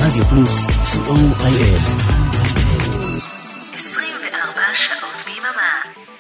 רדיו פלוס, co.il. 24 שעות ביממה.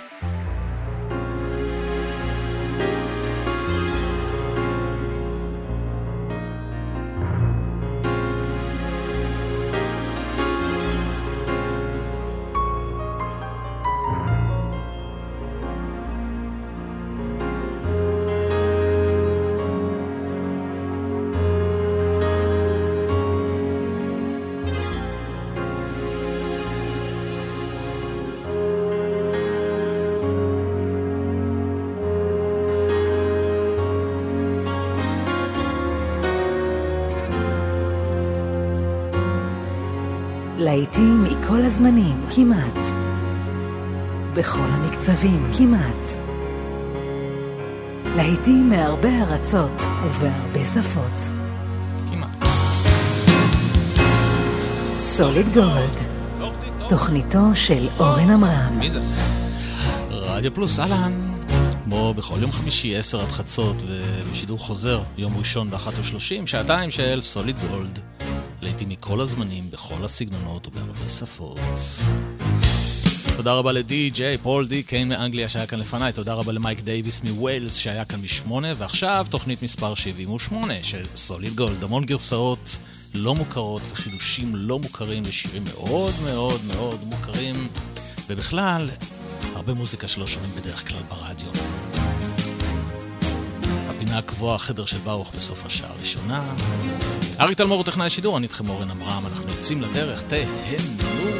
להיטים מכל הזמנים, כמעט. בכל המקצבים, כמעט. להיטים מהרבה ארצות ובהרבה שפות. כמעט. סוליד גולד. תוכניתו של אורן אמרם. מי זה? רדיו פלוס, אהלן. כמו בכל יום חמישי 10 עד חצות ובשידור חוזר יום ראשון ב-1:30, שעתיים של סוליד גולד. להיטים מכל הזמנים, בכל הסגנונות ובהרבה שפות. תודה רבה לדי-ג'יי פול די קיין מאנגליה שהיה כאן לפניי, תודה רבה למייק דייביס מווילס שהיה כאן מ8, ועכשיו תוכנית מספר 78 של סוליד גולד, המון גרסאות לא מוכרות וחידושים לא מוכרים לשירים מאוד מאוד מאוד מוכרים, ובכלל הרבה מוזיקה שלא שומעים בדרך כלל ברדיו. הפינה הקבועה, החדר של ברוך בסוף השעה הראשונה. אריק תלמור הוא טכנאי שידור, אני איתכם אורן אמרם, אנחנו יוצאים לדרך, תהנו.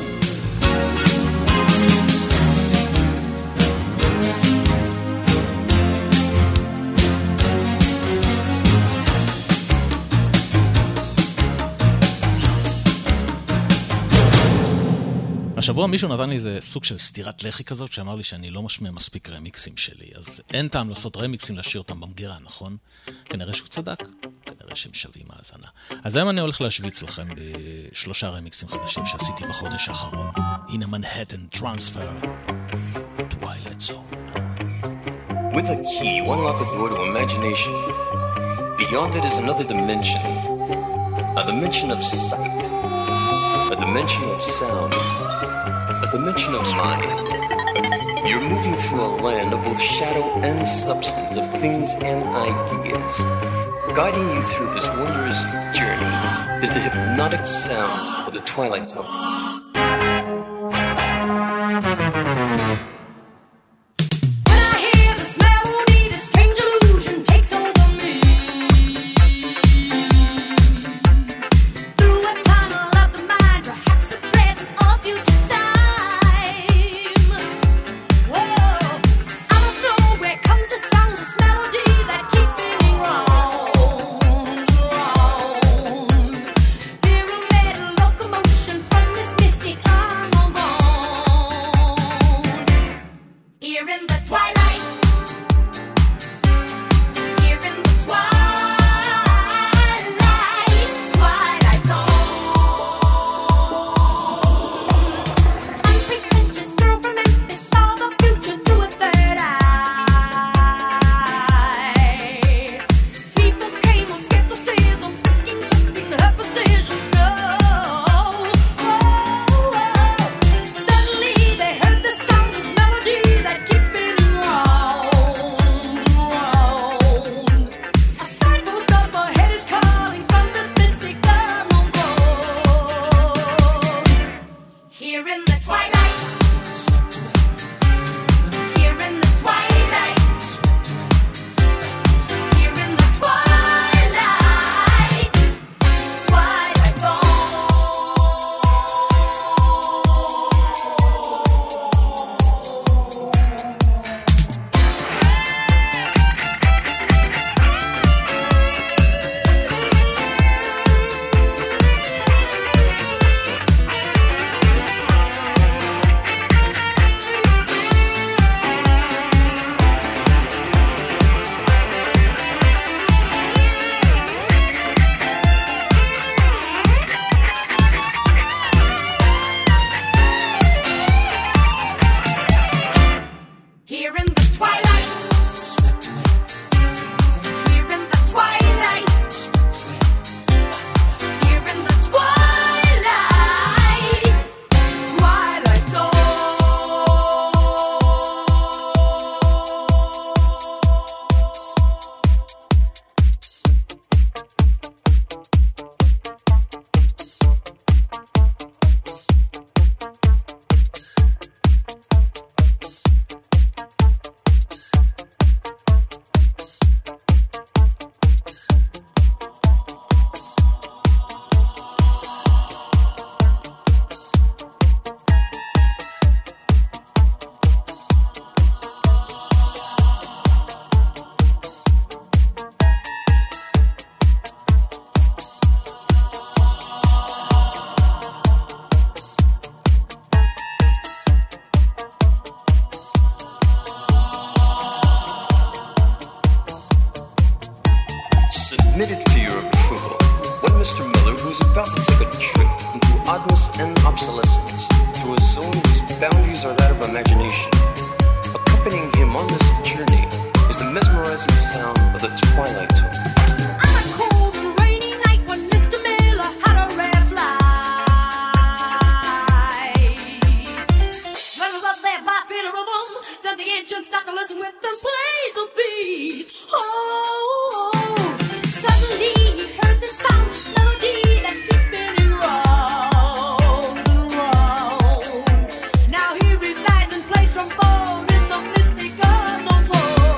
השבוע מישהו נתן לי איזה סוג של סתירת לחי כזאת, שאמר לי שאני לא משמע מספיק רמיקסים שלי, אז אין טעם לעשות רמיקסים להשאיר אותם במגירה, נכון? כנראה שהוא צדק, כנראה שהם שווים האזנה. אז היום אני הולך להשוויץ לכם ב3 רמיקסים חדשים שעשיתי בחודש האחרון. הנה מנהטן טרנספר, Twilight Zone. With a key, you unlock a door to imagination. Beyond it is another dimension. A dimension of sight. A dimension of sound. A dimension of mind. You're moving through a land of both shadow and substance, of things and ideas. Guiding you through this wondrous journey is the hypnotic sound of the Twilight Zone. This submitted for your approval when Mr. Miller, who is about to take a trip into oddness and obsolescence through a zone whose boundaries are that of imagination. Accompanying him on this journey is the mesmerizing sound of the twilight tone. On a cold and rainy night when Mr. Miller had a rare flight. When I was up there by Peter of them, then the ancient stopped to listen with them play the beat. Oh, suddenly he heard the sound, this melody that keeps spinning round and round. Now he resides in place from far in the mystic unknown zone.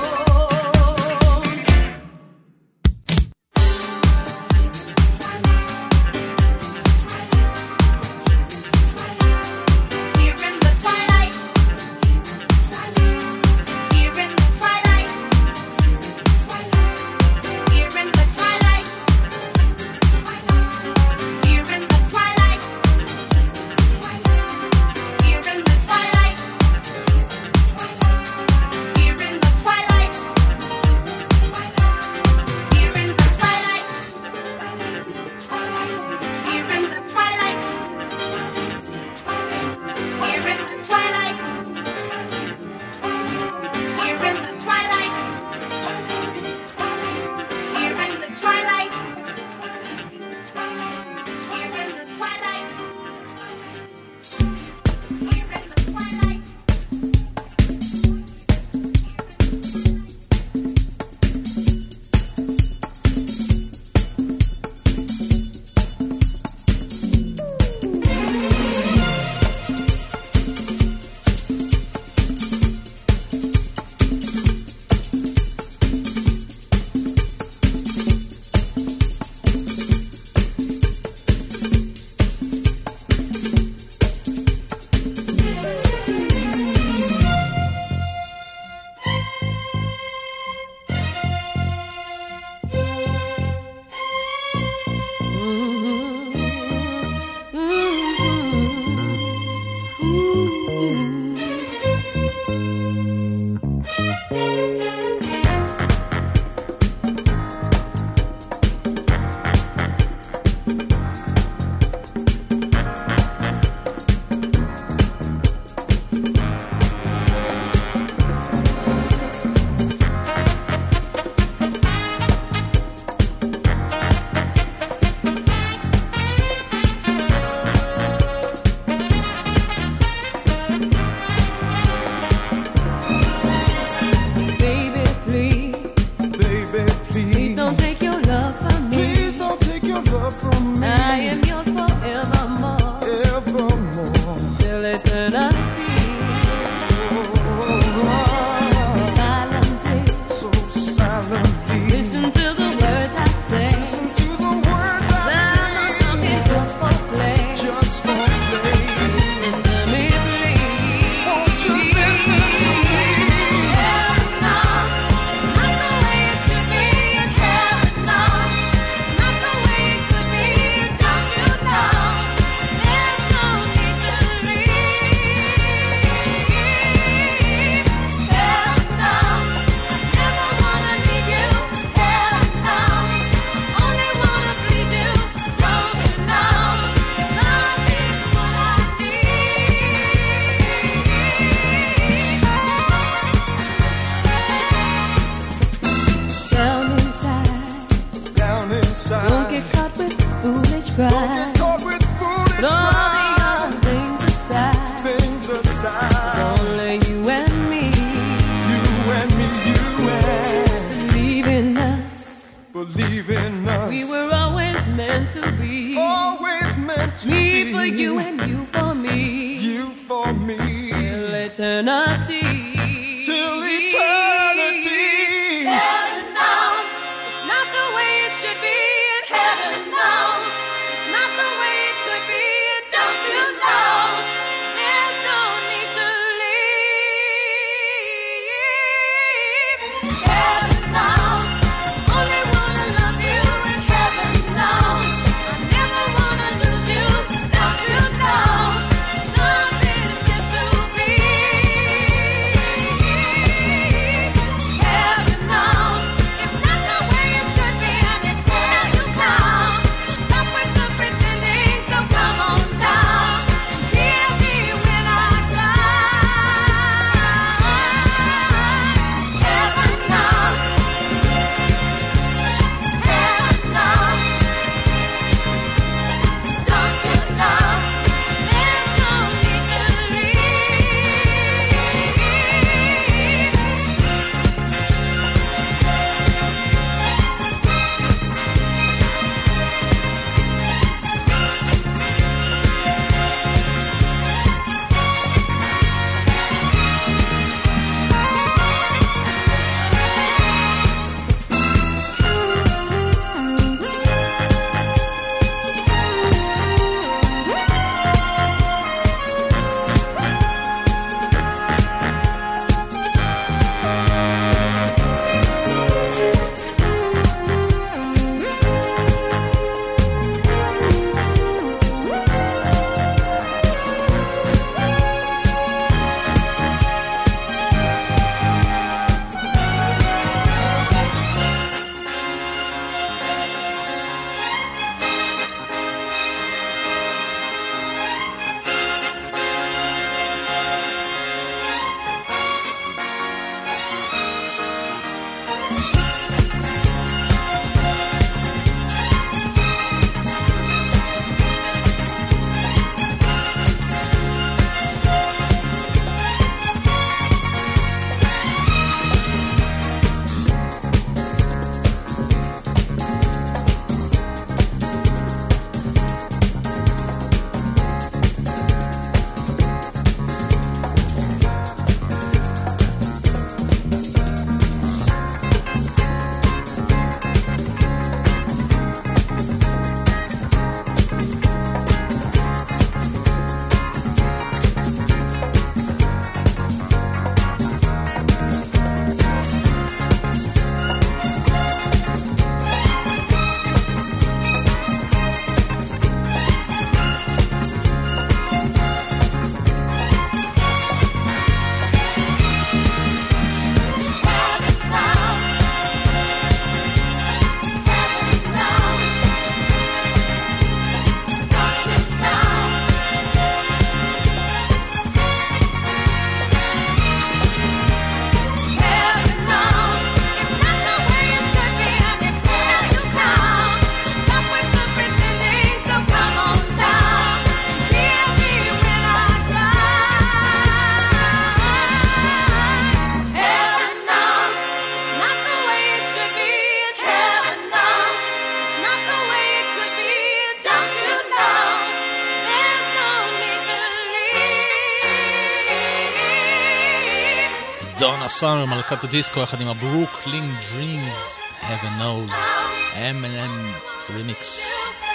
דונה סאמר, מלכת הדיסקו, יחד עם הברוקלין דרימס, Heaven Knows, M&M רימיקס.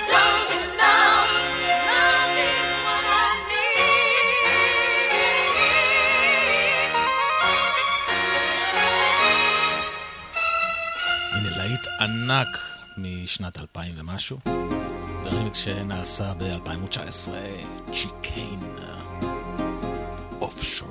הנה להיט ענק משנת 2000 ומשהו, ברימיקס שנעשה ב-2019, צ'יקיין, אופשור.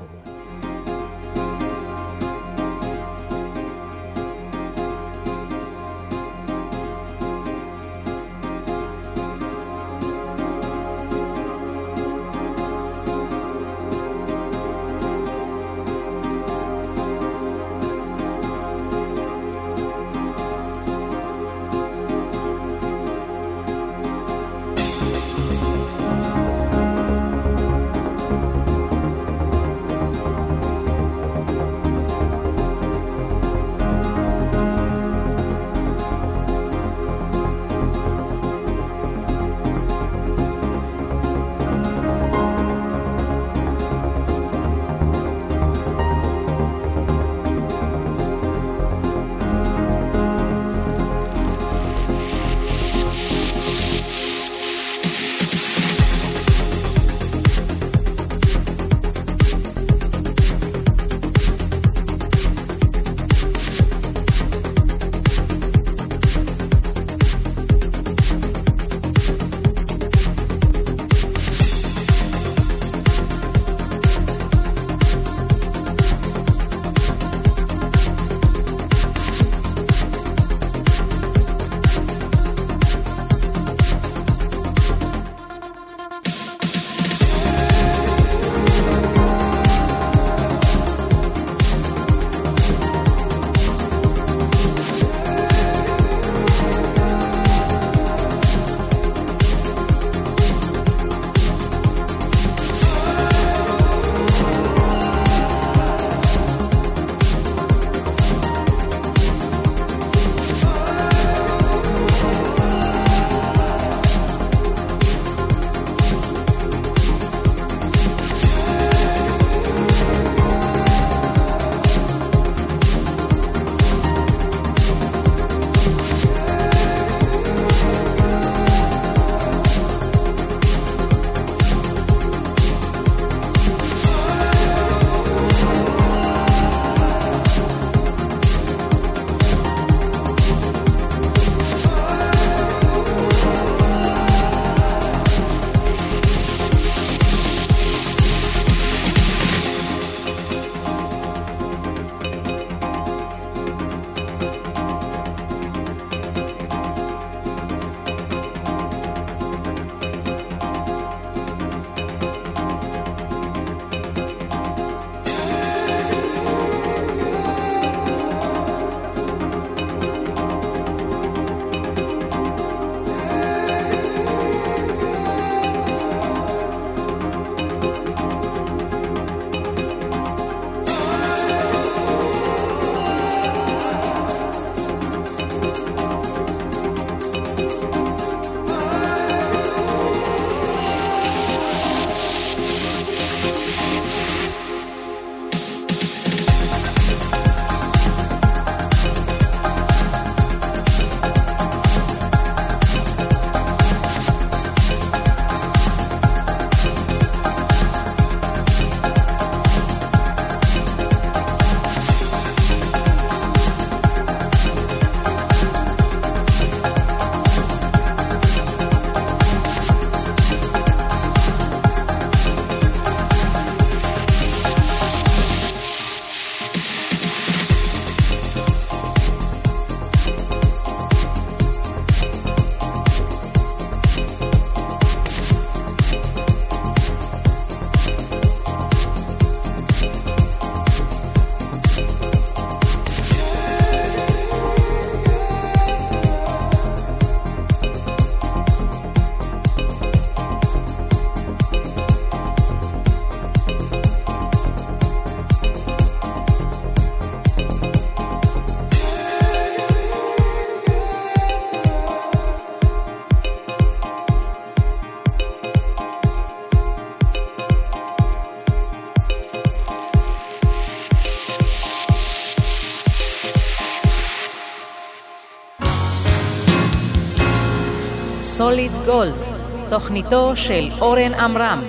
סוליד גולד, תוכניתו של אורן אמרם.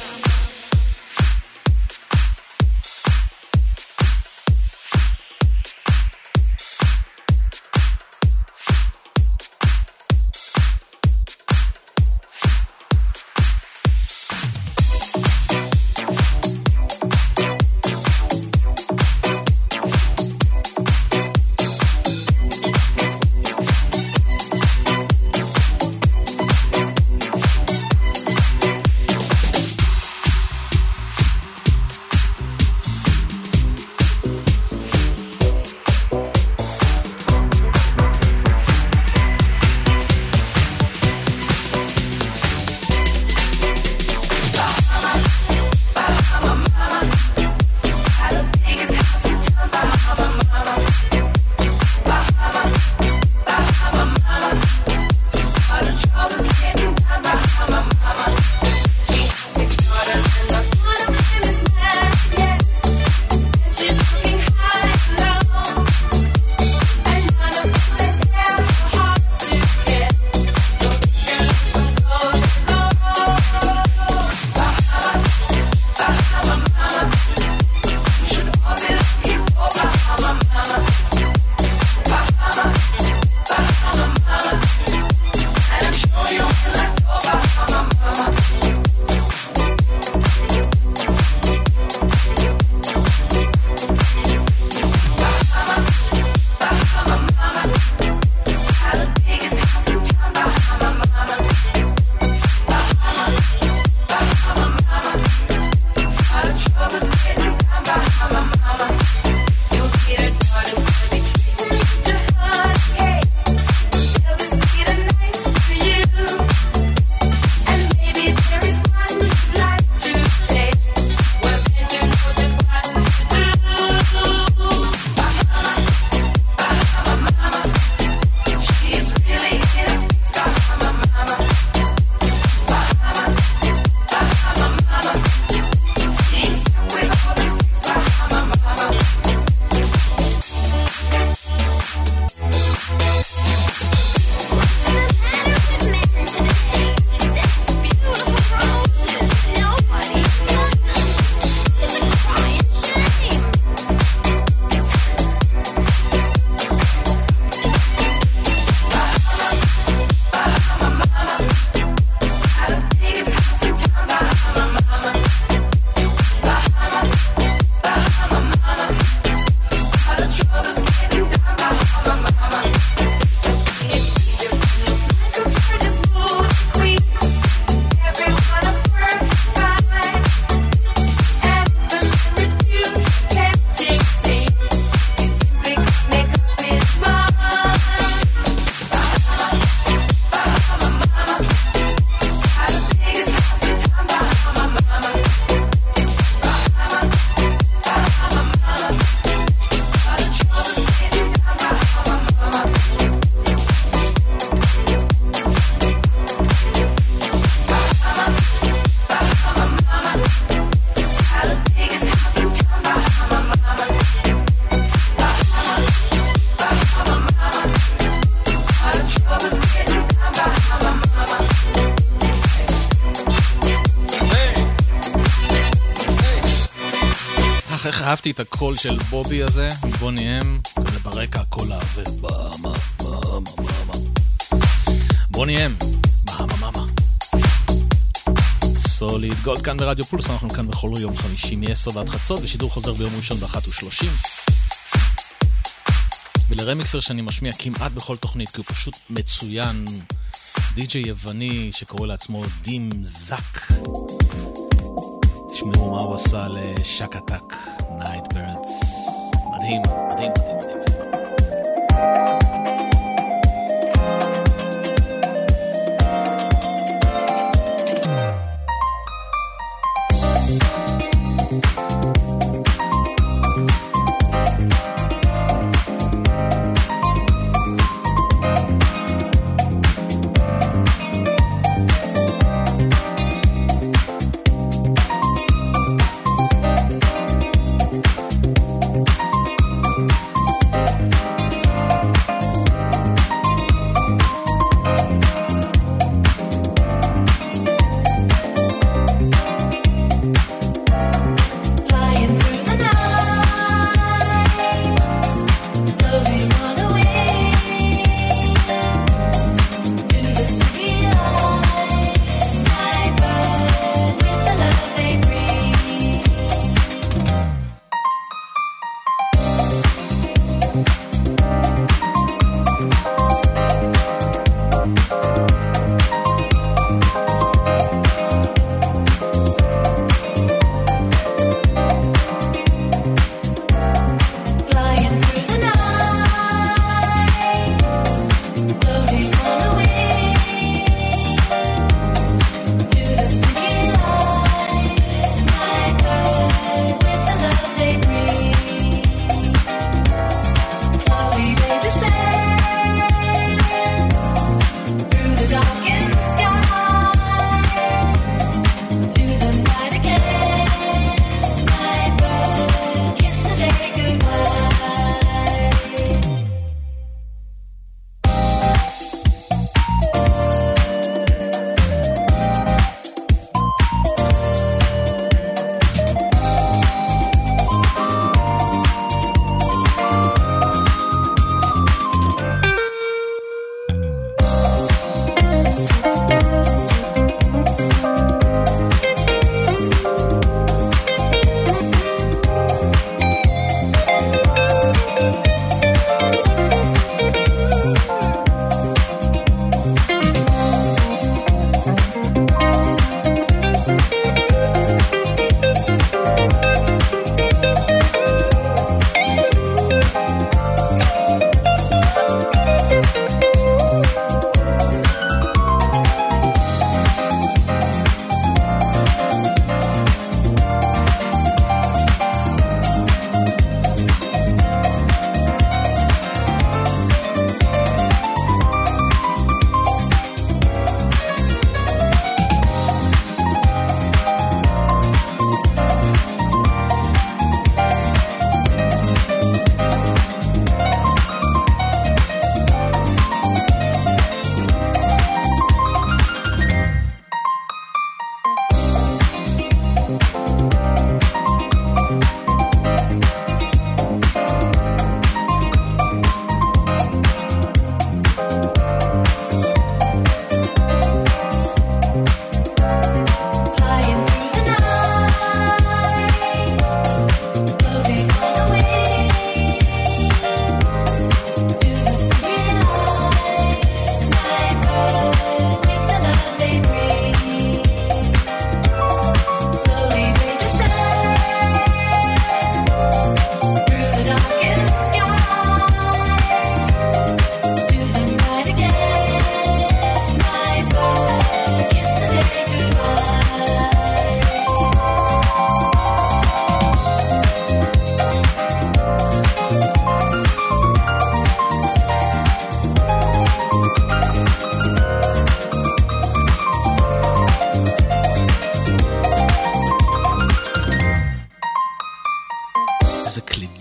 איך אהבתי את הקול של בובי הזה, בוני אם, כזה ברקע הקול העבר, בוני אם, מה. סוליד גולד כאן ברדיו פולס, אנחנו כאן בכל יום חמישי מ-10 ועד חצות, ושידור חוזר ביום ראשון ב-1:30. ולרמיקסר שאני משמיע כמעט בכל תוכנית, כי הוא פשוט מצוין, די-ג'יי יווני שקורא לעצמו דים זק. תשמעו מה הוא עשה לשקטק, נייט ברדס. מדהים.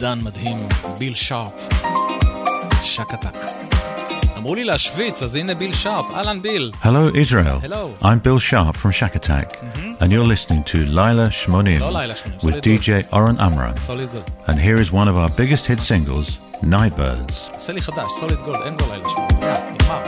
נגן מדהים, ביל שרפ, שקטק. אמרו לי להשוויץ, אז הנה ביל שרפ. אהלן ביל. Hello Israel. Hello. I'm Bill Sharp from Shack Attack, and you're listening to Laila Shmonim לא לילה שמונים, with סוליד DJ Oren Amram. סוליד גולד. And here is one of our biggest hit singles, Nightbirds. עושה לי חדש, סוליד גולד, אין בו לילה שמונים. נגמר.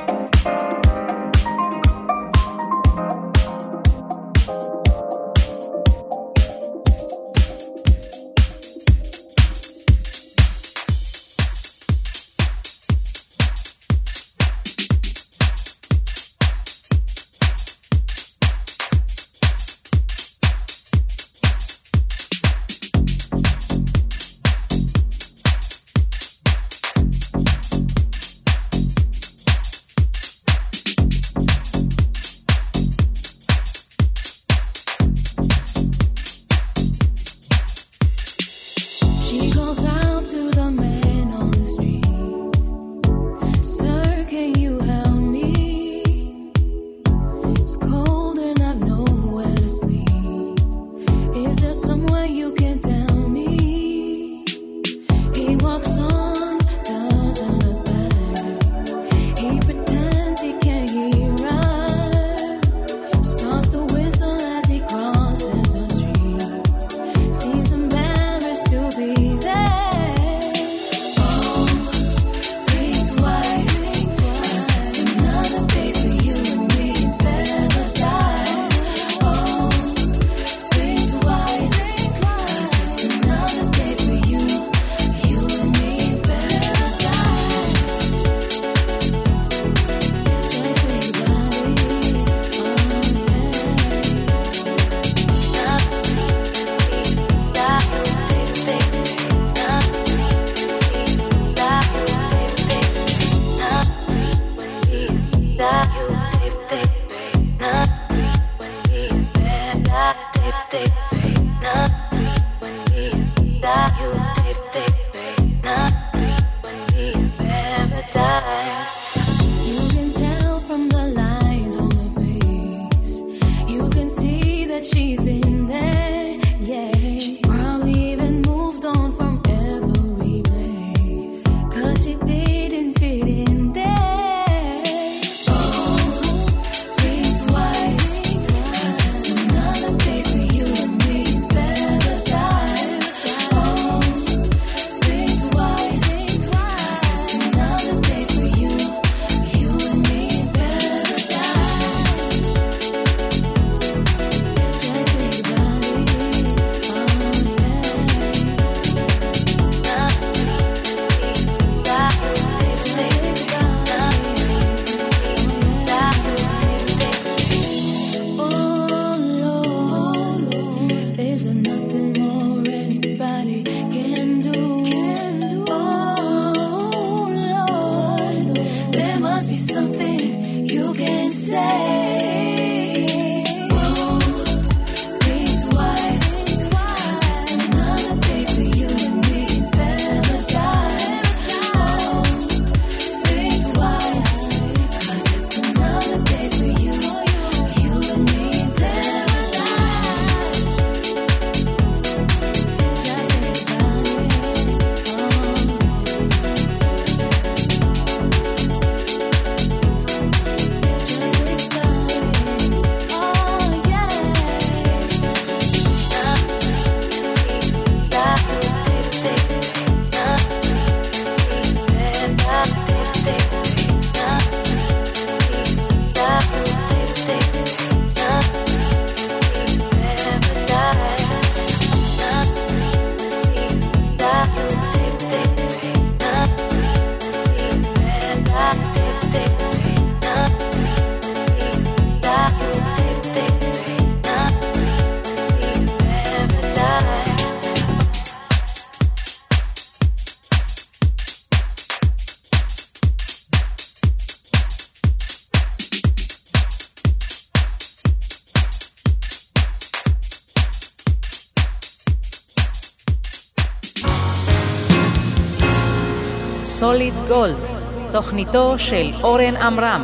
סוליד גולד, תוכניתו של אורן עמרם.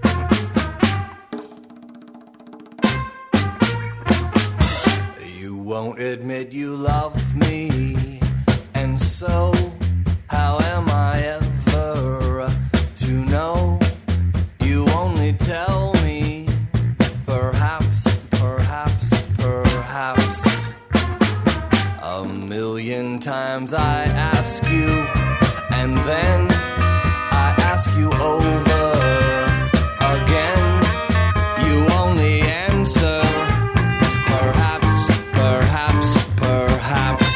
You won't admit you love me, and so how am I ever to know? You only tell me, perhaps, perhaps, perhaps. A million times I ask you, and then I ask you over again. You only answer, perhaps, perhaps, perhaps.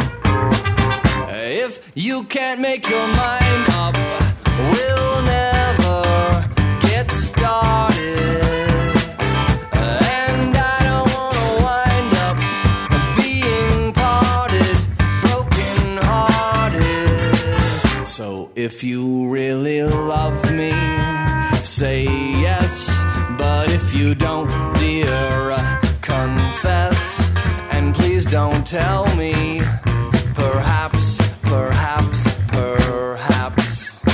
If you can't make your mind up, we'll never get started. And I don't wanna wind up being parted, broken hearted. So if you really love me, say yes. But if you don't, dear, confess. And please don't tell me, perhaps, perhaps, perhaps.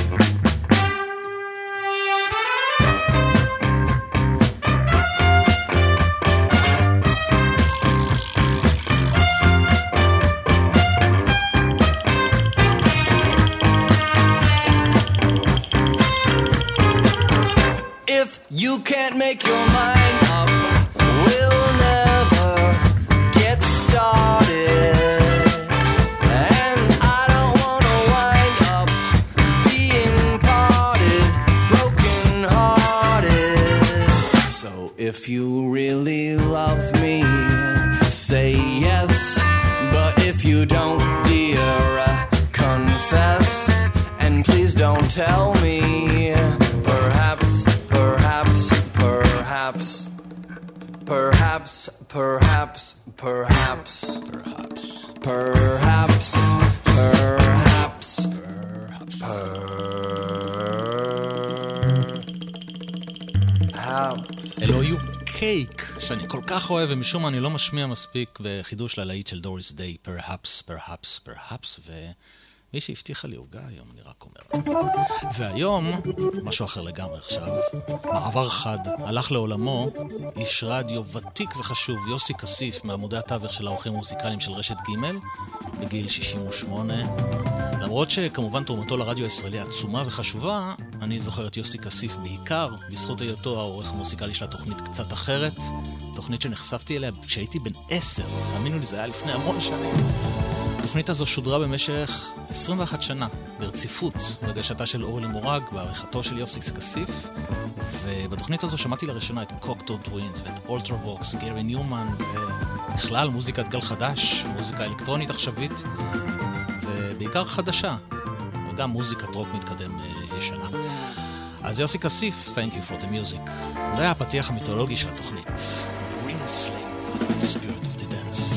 If you can't make your mind up, we'll never get started. And I don't wanna wind up being parted, broken hearted. So if you really love me, say yes. But if you don't, dear, confess. And please don't tell me, perhaps, perhaps, perhaps, perhaps, perhaps, perhaps, perhaps, perhaps, perhaps. אלו היו קייק, שאני כל כך אוהב, ומשום מה אני לא משמיע מספיק בחידוש ללהיט של דוריס דיי, perhaps, perhaps, perhaps, ומי שהבטיחה לי עוגה היום, אני רק אומר. והיום, משהו אחר לגמרי עכשיו, מעבר חד, הלך לעולמו, איש רדיו ותיק וחשוב, יוסי כסיף, מעמודי התווך של האורחים המוזיקליים של רשת ג' בגיל 68. למרות שכמובן תרומתו לרדיו הישראלי עצומה וחשובה, אני זוכר את יוסי כסיף בעיקר בזכות היותו העורך המוזיקלי של התוכנית קצת אחרת, תוכנית שנחשפתי אליה כשהייתי בן 10, תאמינו לי, זה היה לפני המון שנים. התוכנית הזו שודרה במשך 21 שנה ברציפות בגשתה של אורלי מורג בעריכתו של יוסי כסיף, ובתוכנית הזו שמעתי לראשונה את קוקטו טווינס ואת אולטרווקס, גרי ניומן, ובכלל מוזיקת גל חדש, מוזיקה אלקטרונית עכשווית ובעיקר חדשה, וגם מוזיקת רוק מתקדם ישנה. אז יוסי כסיף, thank you for the music. זה היה הפתיח המיתולוגי של התוכנית. Green Slate, Spirit of the Dance.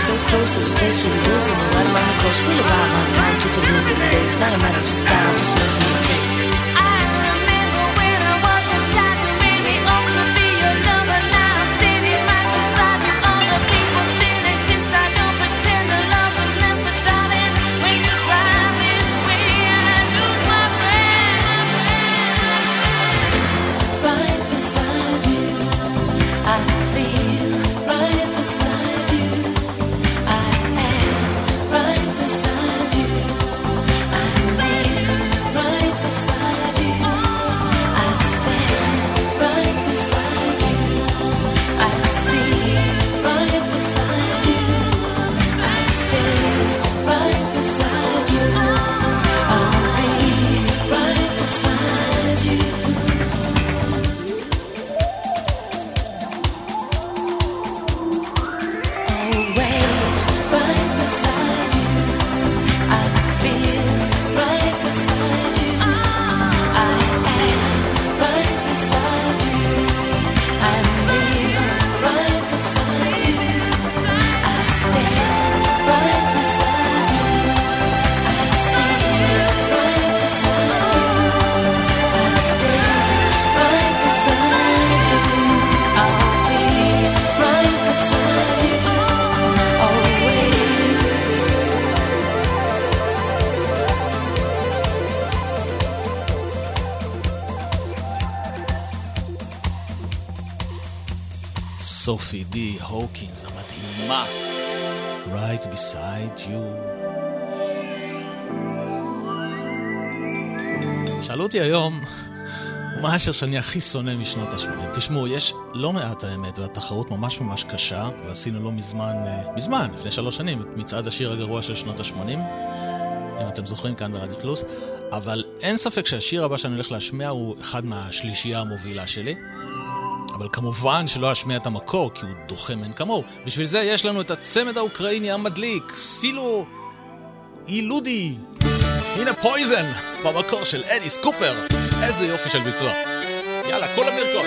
so close, there's a place where we do sing right along the coast. We'll arrive on time, just a little bit late. It's not a matter of style, just listen to taste. I remember when I was a child, you made me up to be your lover. Now I'm standing right beside you. All the people still exist. I don't pretend to love them, left but darling, when you cry this way, I lose my friend. Right beside you, I feel right beside you. I am right beside you. I live right beside you. I stand right beside you. I see right beside you. I stay right beside you. I'll be right beside you. Always right beside you. I feel right beside you. I am right beside you. I live right beside you. I stand right beside you. I see right beside you. I stay right beside you. I'll be right beside you. Always. סופי די הוקינס המדהימה, Right Beside You. שאלו אותי היום מה השיר שאני הכי שונא משנות ה-80. תשמעו, יש לא מעט האמת, והתחרות ממש ממש קשה, ועשינו לא מזמן, לפני 3 שנים, את מצעד השיר הגרוע של שנות ה-80, אם אתם זוכרים כאן ברדיו פלוס, אבל אין ספק שהשיר הבא שאני הולך להשמיע הוא אחד מהשלישייה המובילה שלי, אבל כמובן שלא אשמיע את המקור, כי הוא דוחה מן כמוהו. בשביל זה יש לנו את הצמד האוקראיני המדליק, סילו אילודי. הנה פויזן, במקור של אליס קופר. איזה יופי של ביצוע. יאללה, כל המרקות.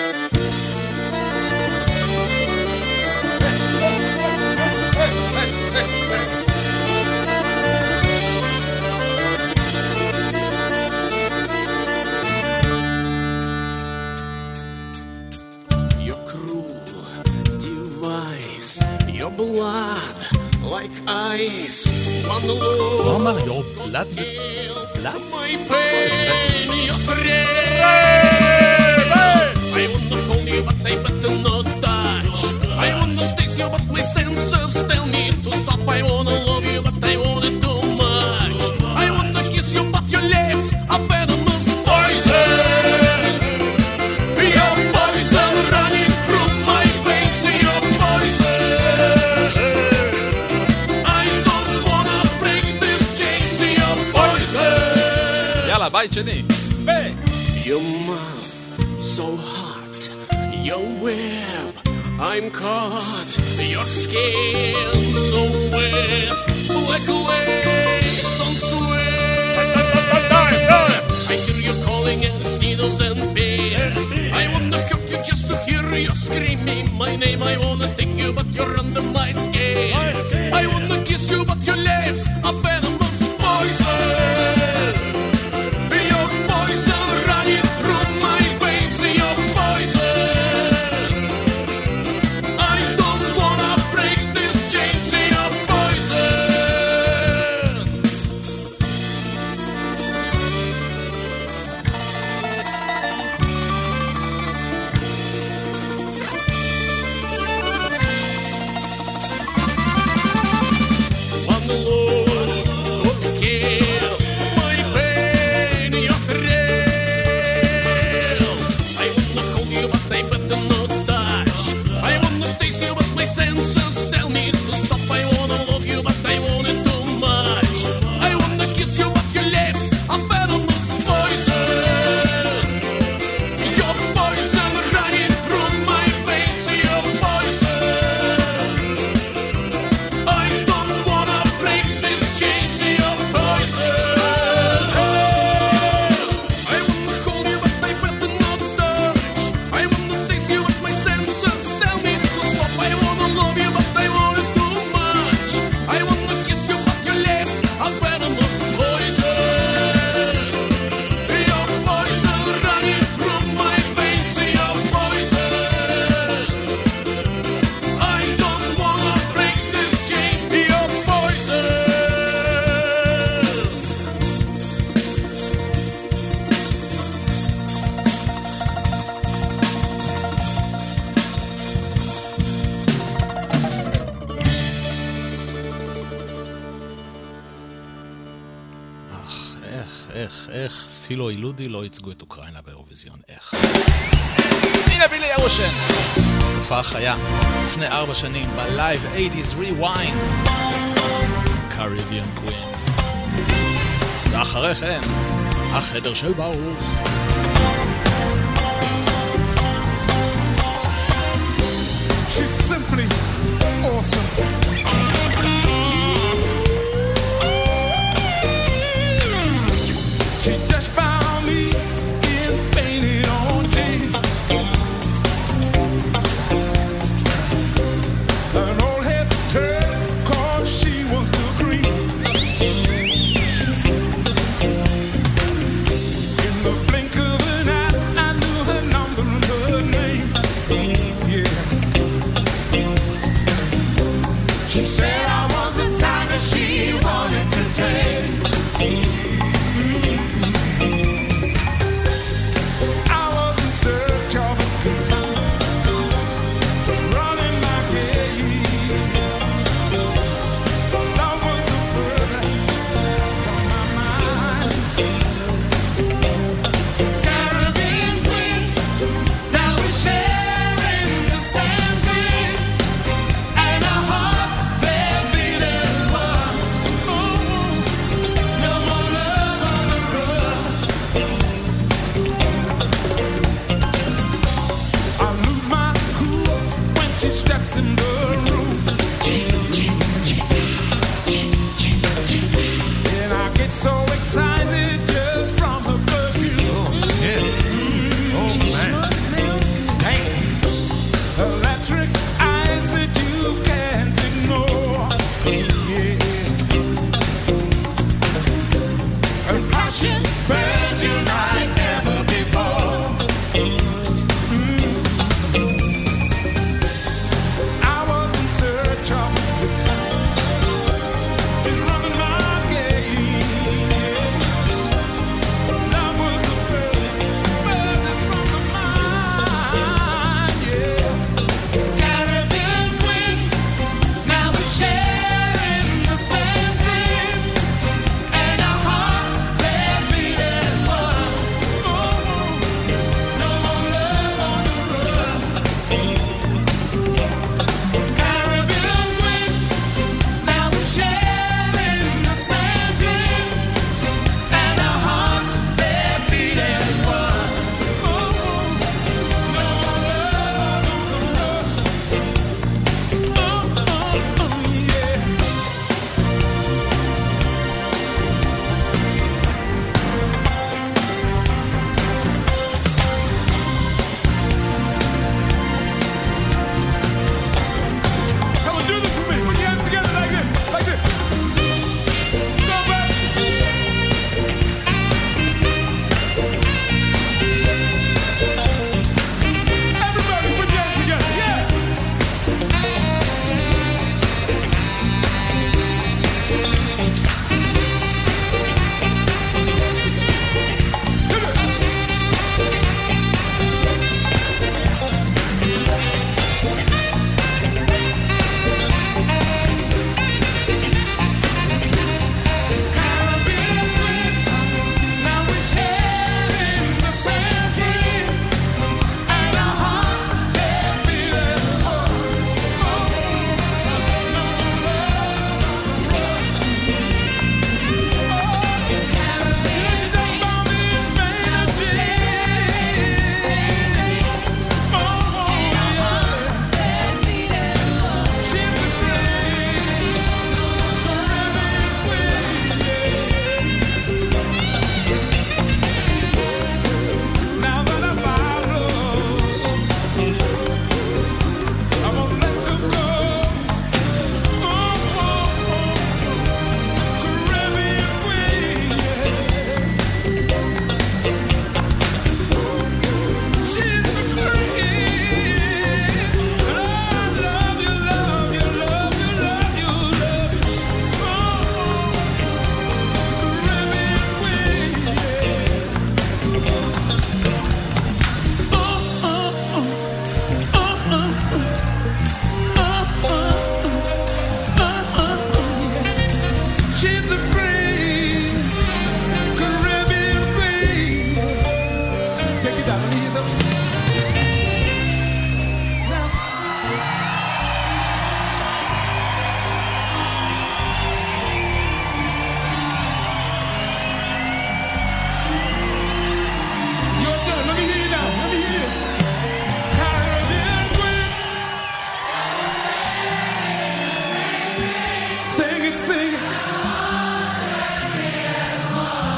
Your cruel device, your blood like ice. One look, הוא אמר, your blood? my pain, your thrill. I wanna hold you, but I better not touch. I wanna taste you, but my senses tell me to stop. I wanna love you, but I want it too much. I wanna kiss you, but your lips are venomous poison. Your poison running through my veins. Your poison. I don't wanna break this chains. Your poison. יאללה, בית שני. Your mouth so hot, your web, I'm caught. Your skin so wet, like lace on sweat. I hear you calling and it's needles and pins. I wanna hurt you just to hear you screaming my name. I wanna take you, but you're under my skin. I wanna kiss you, but your lips are venomous poison. Your poison running through my veins. Your poison. I don't wanna break these chains. Your poison. איך סילו אילודי לא ייצגו את אוקראינה באירוויזיון, איך? הנה בילי אירושן, הופעה חיה לפני 4 שנים בלייב 80's Rewind, Caribbean Queen. ואחרי כן החדר של באור. She's simply awesome. She just found me in painted on jeans. An old head turn, 'cause she was the green. In the blink of an eye, I knew her number and her name. Yeah.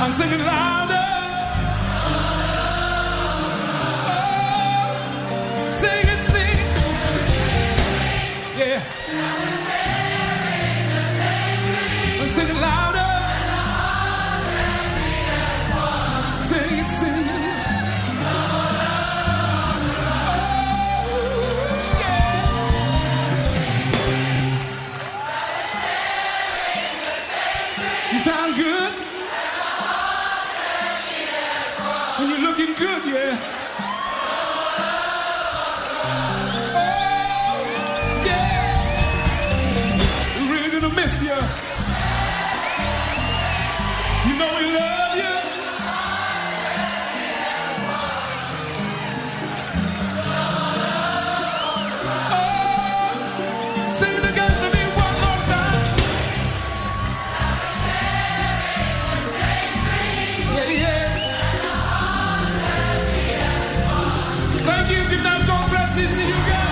on, sing it louder. Sing it, sing. Yeah. And sing it louder. Sing it, sing it. You sound good. And you're looking good, yeah. Oh, yeah. We're really gonna miss you. You know we love you. Oh, sing it again to me one more time. Yeah, yeah. Thank you. Good night. God bless you. See you guys.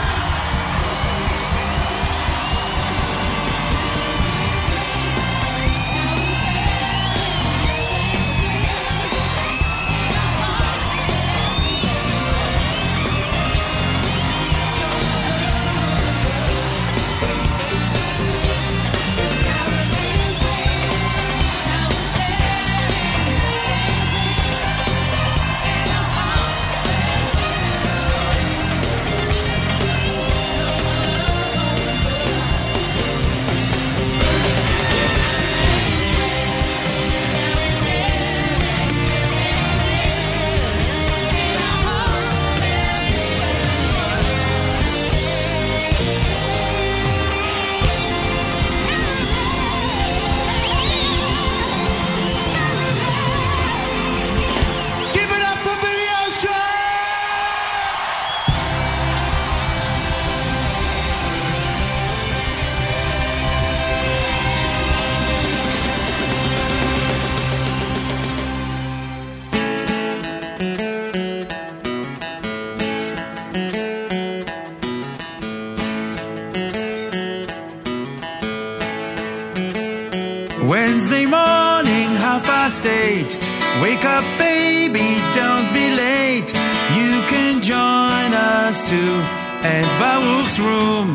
Give it up for Video Show! Wednesday morning, 8:30. Wake up, baby, don't be late. You can join us too at Baruch's room.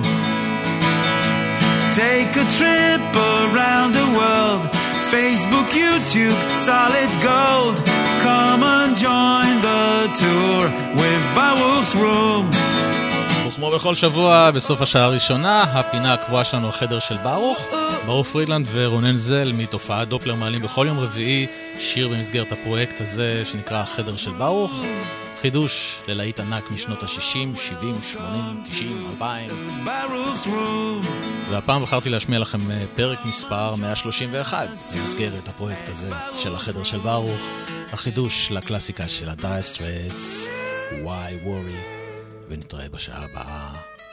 Take a trip around the world. Facebook, YouTube, solid gold. Come and join the tour with Baruch's room. וכמו בכל שבוע, בסוף השעה הראשונה, הפינה הקבועה שלנו, החדר של ברוך. ברוך פרידלנד ורונן זל מתופעת דופלר מעלים בכל יום רביעי שיר במסגרת הפרויקט הזה שנקרא החדר של ברוך. חידוש ללהיט ענק משנות ה-60, 70, 80, 90, 2000. והפעם בחרתי להשמיע לכם פרק מספר 131 במסגרת הפרויקט הזה של החדר של ברוך. החידוש לקלאסיקה של ה-Dire Straits, Why Worry, ונתראה בשעה הבאה.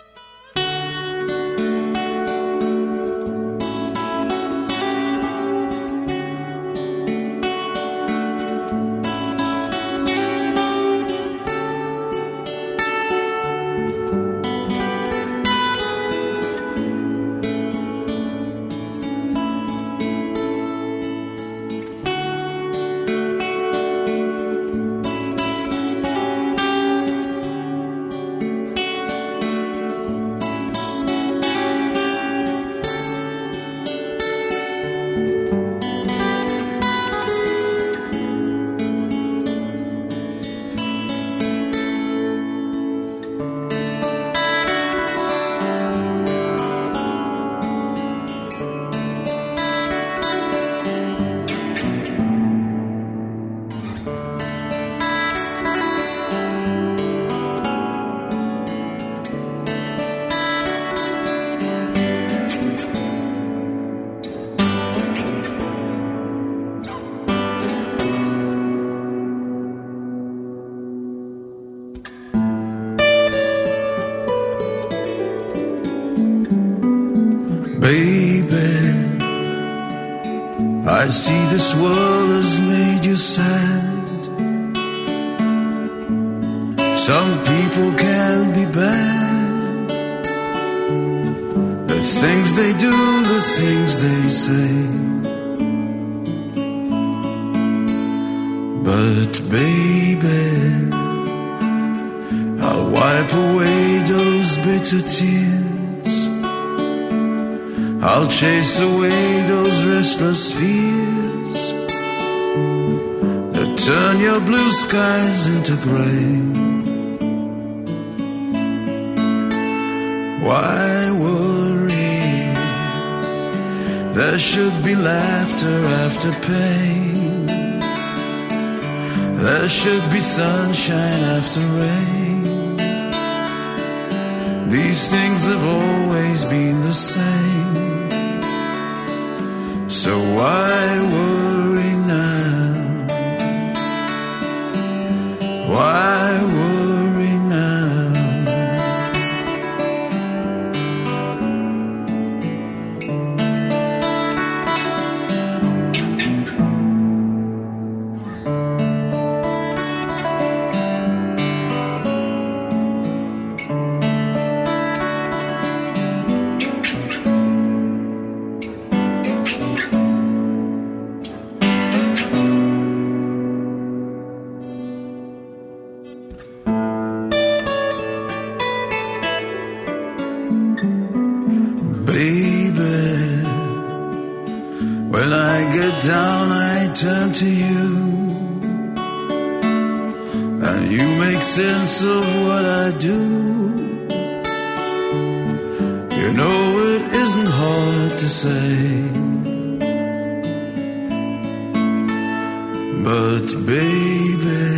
Baby, I see this world has made you sad. Some people can be bad. The things they do, the things they say. But baby, I'll wipe away those bitter tears. I'll chase away those restless fears that turn your blue skies into gray. Why worry? There should be laughter after pain. There should be sunshine after rain. These things have always been the same. So why worry now? Why worry now? Down I turn to you, and you make sense of what I do. You know it isn't hard to say, but baby,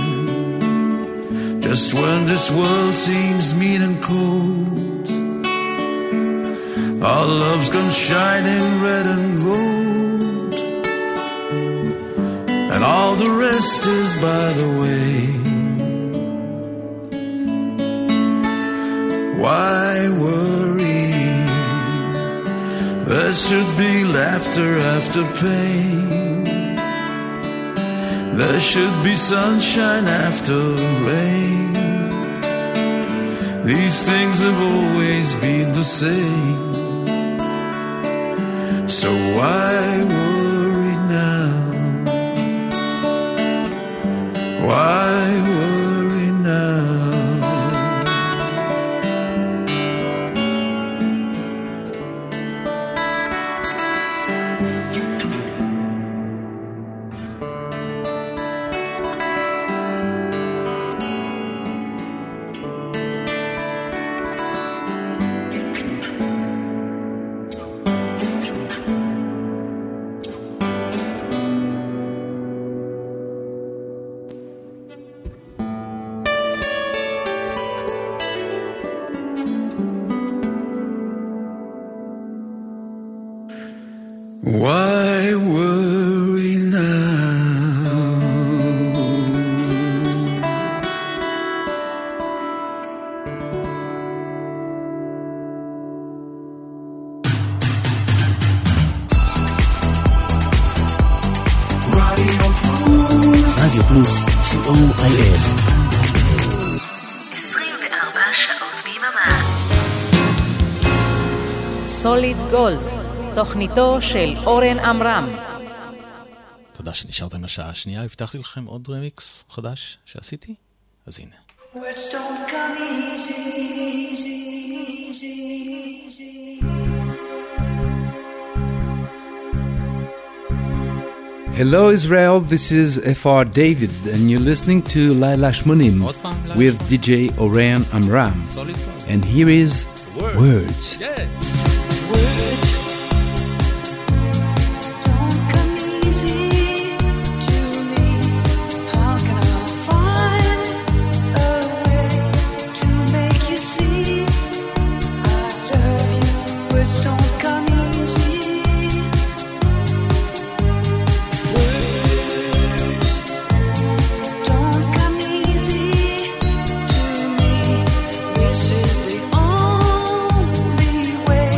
just when this world seems mean and cold, our loves come shining red and gold. And all the rest is by the way. Why worry? There should be laughter after pain. There should be sunshine after rain. These things have always been the same. So why worry now? Why worry now? Why worry now? רדיו פלוס, COIS. 24 שעות ביממה. סוליד גולד, תוכניתו של אורן עמרם. תודה שנשארתם לשעה השנייה. הבטחתי לכם עוד רמיקס חדש שעשיתי, אז הנה. Words don't come easy, easy, easy, easy. Hello Israel, this is F.R. David and you're listening to Laila Shmonim with DJ Oren Amram. And here is Words. Words don't come easy to me. How can I find a way to make you see I love you? Words don't come easy. Words don't come easy to me. This is the only way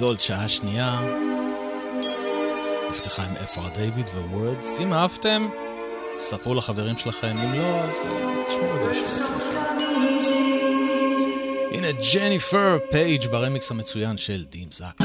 גולד, שעה שנייה. נפתחה עם FR דיוויד ו-Words. אם אהבתם, ספרו לחברים שלכם. אם לא, אז תשמעו את זה בשביל עצמכם. הנה ג'ניפר פייג' ברמיקס המצוין של דים זאק.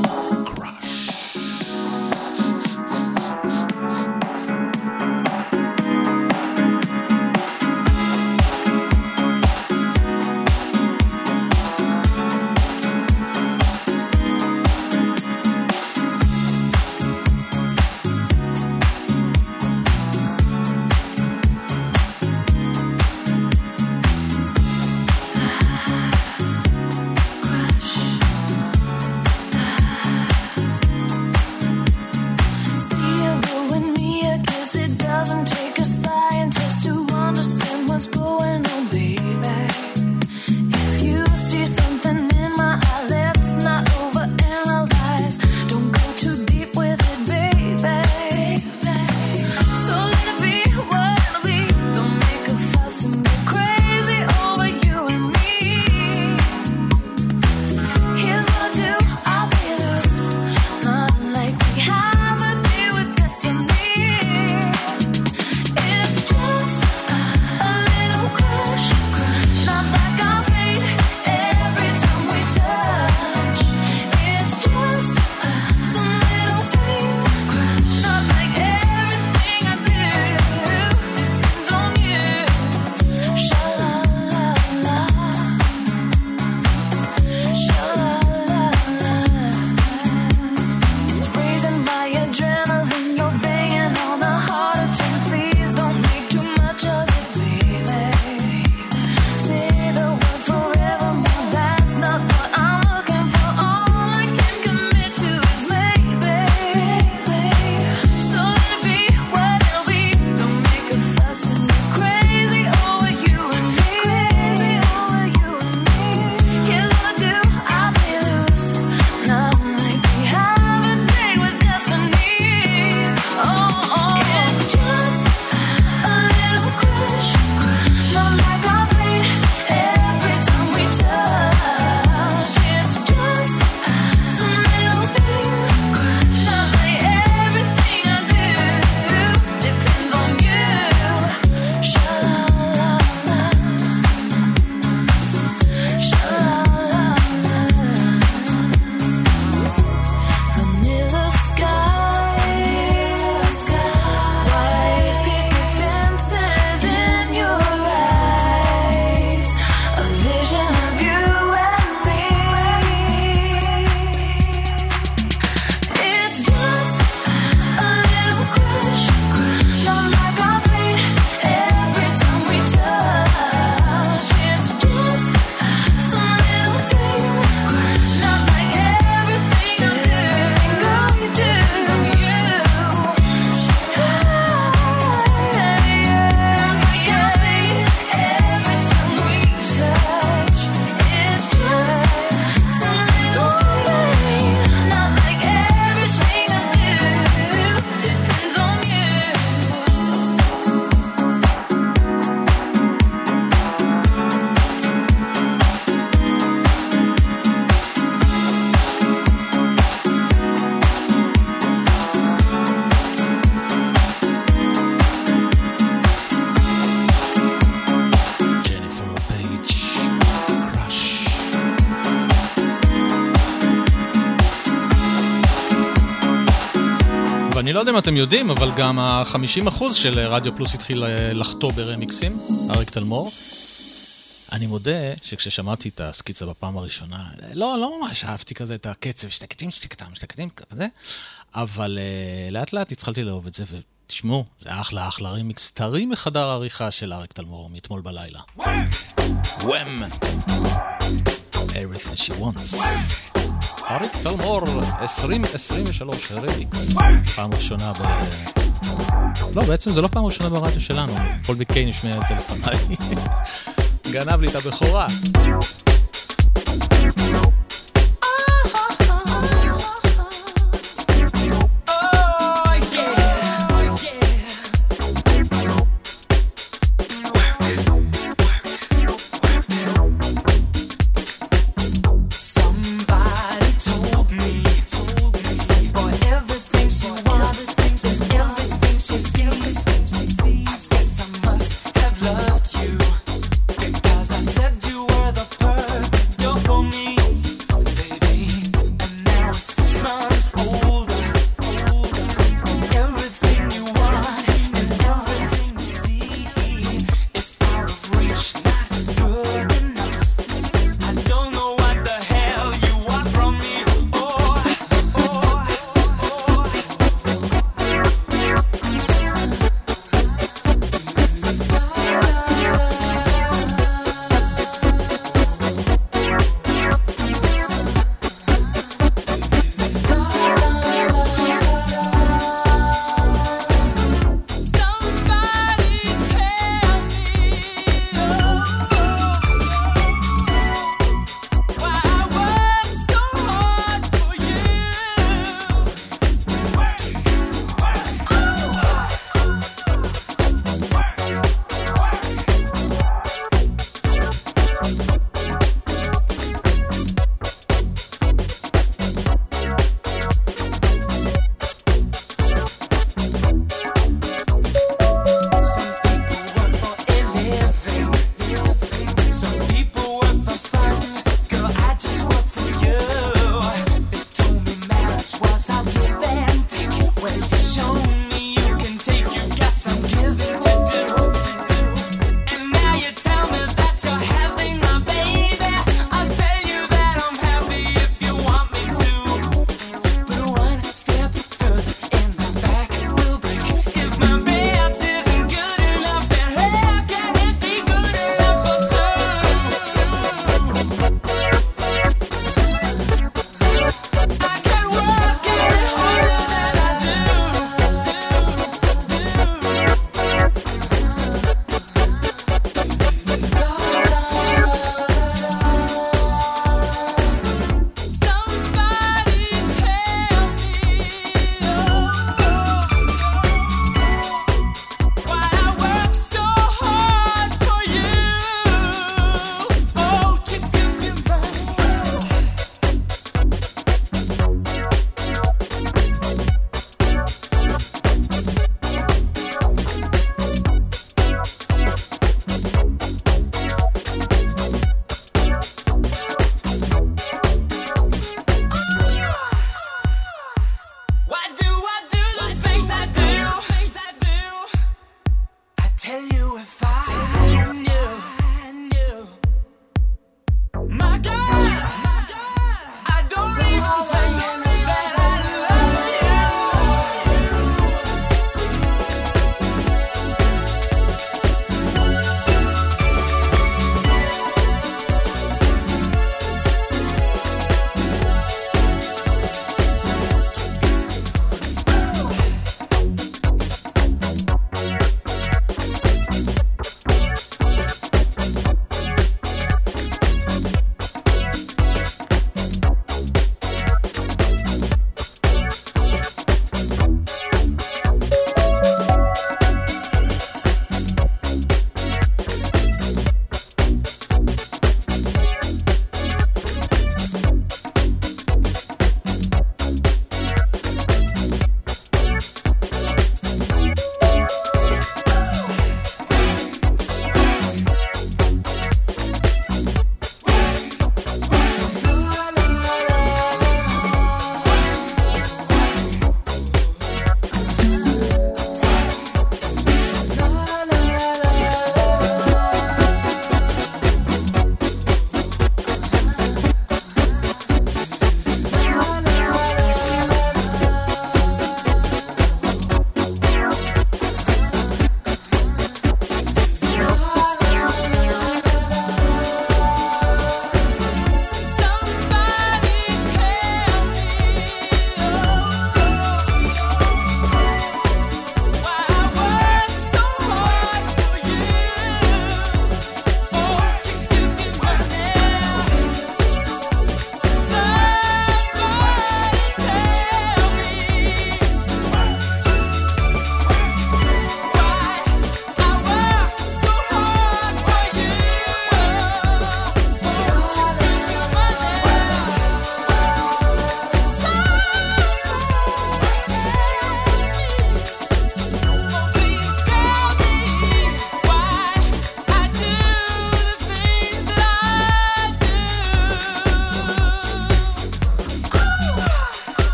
אני לא יודע אם אתם יודעים, אבל גם ה-50% של רדיו פלוס התחיל לחטוא ברמיקסים, אריק תלמור. אני מודה שכששמעתי את הסקיצה בפעם הראשונה, לא ממש אהבתי כזה את הקצב, שתקטים כזה, אבל לאט לאט התחלתי לאהוב את זה, ותשמעו, זה אחלה רמיקס, טרי מחדר העריכה של אריק תלמור, מאתמול בלילה. וואם! Everything she wants. אריק תלמור, 2023 רמיקס. פעם ראשונה לא, בעצם זה לא פעם ראשונה ברדיו שלנו. פול ביקיי נשמע את זה לפניי. גנב לי את הבכורה. Somebody told me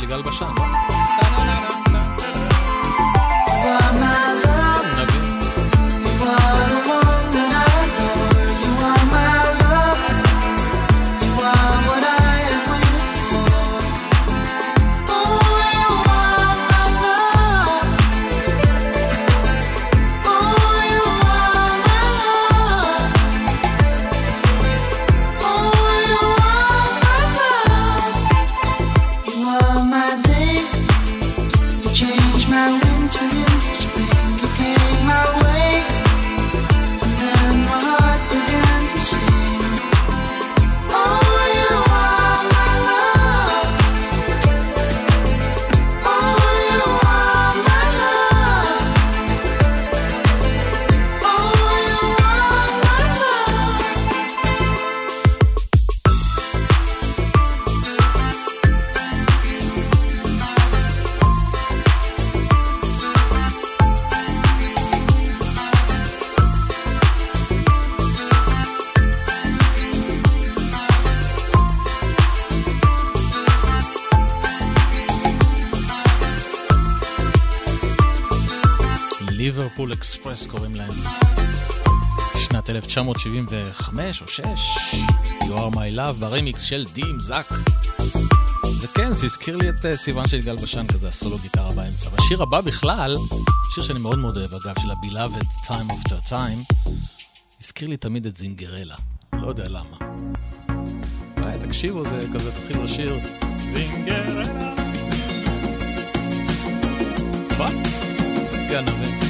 יגאל בשן. ליברפול אקספרס קוראים להם. שנת 1975 או 6, You are my love, ברמיקס של דים זק. וכן, זה הזכיר לי את סיוון של יגאל בשן כזה, הסולו גיטרה באמצע. והשיר הבא בכלל, שיר שאני מאוד מאוד אוהב אגב, של ה-Beloved Time After Time, הזכיר לי תמיד את זינגרלה. לא יודע למה. תקשיבו, זה כזה, תתחילו לשיר זינגרלה. מה? כן, נבין.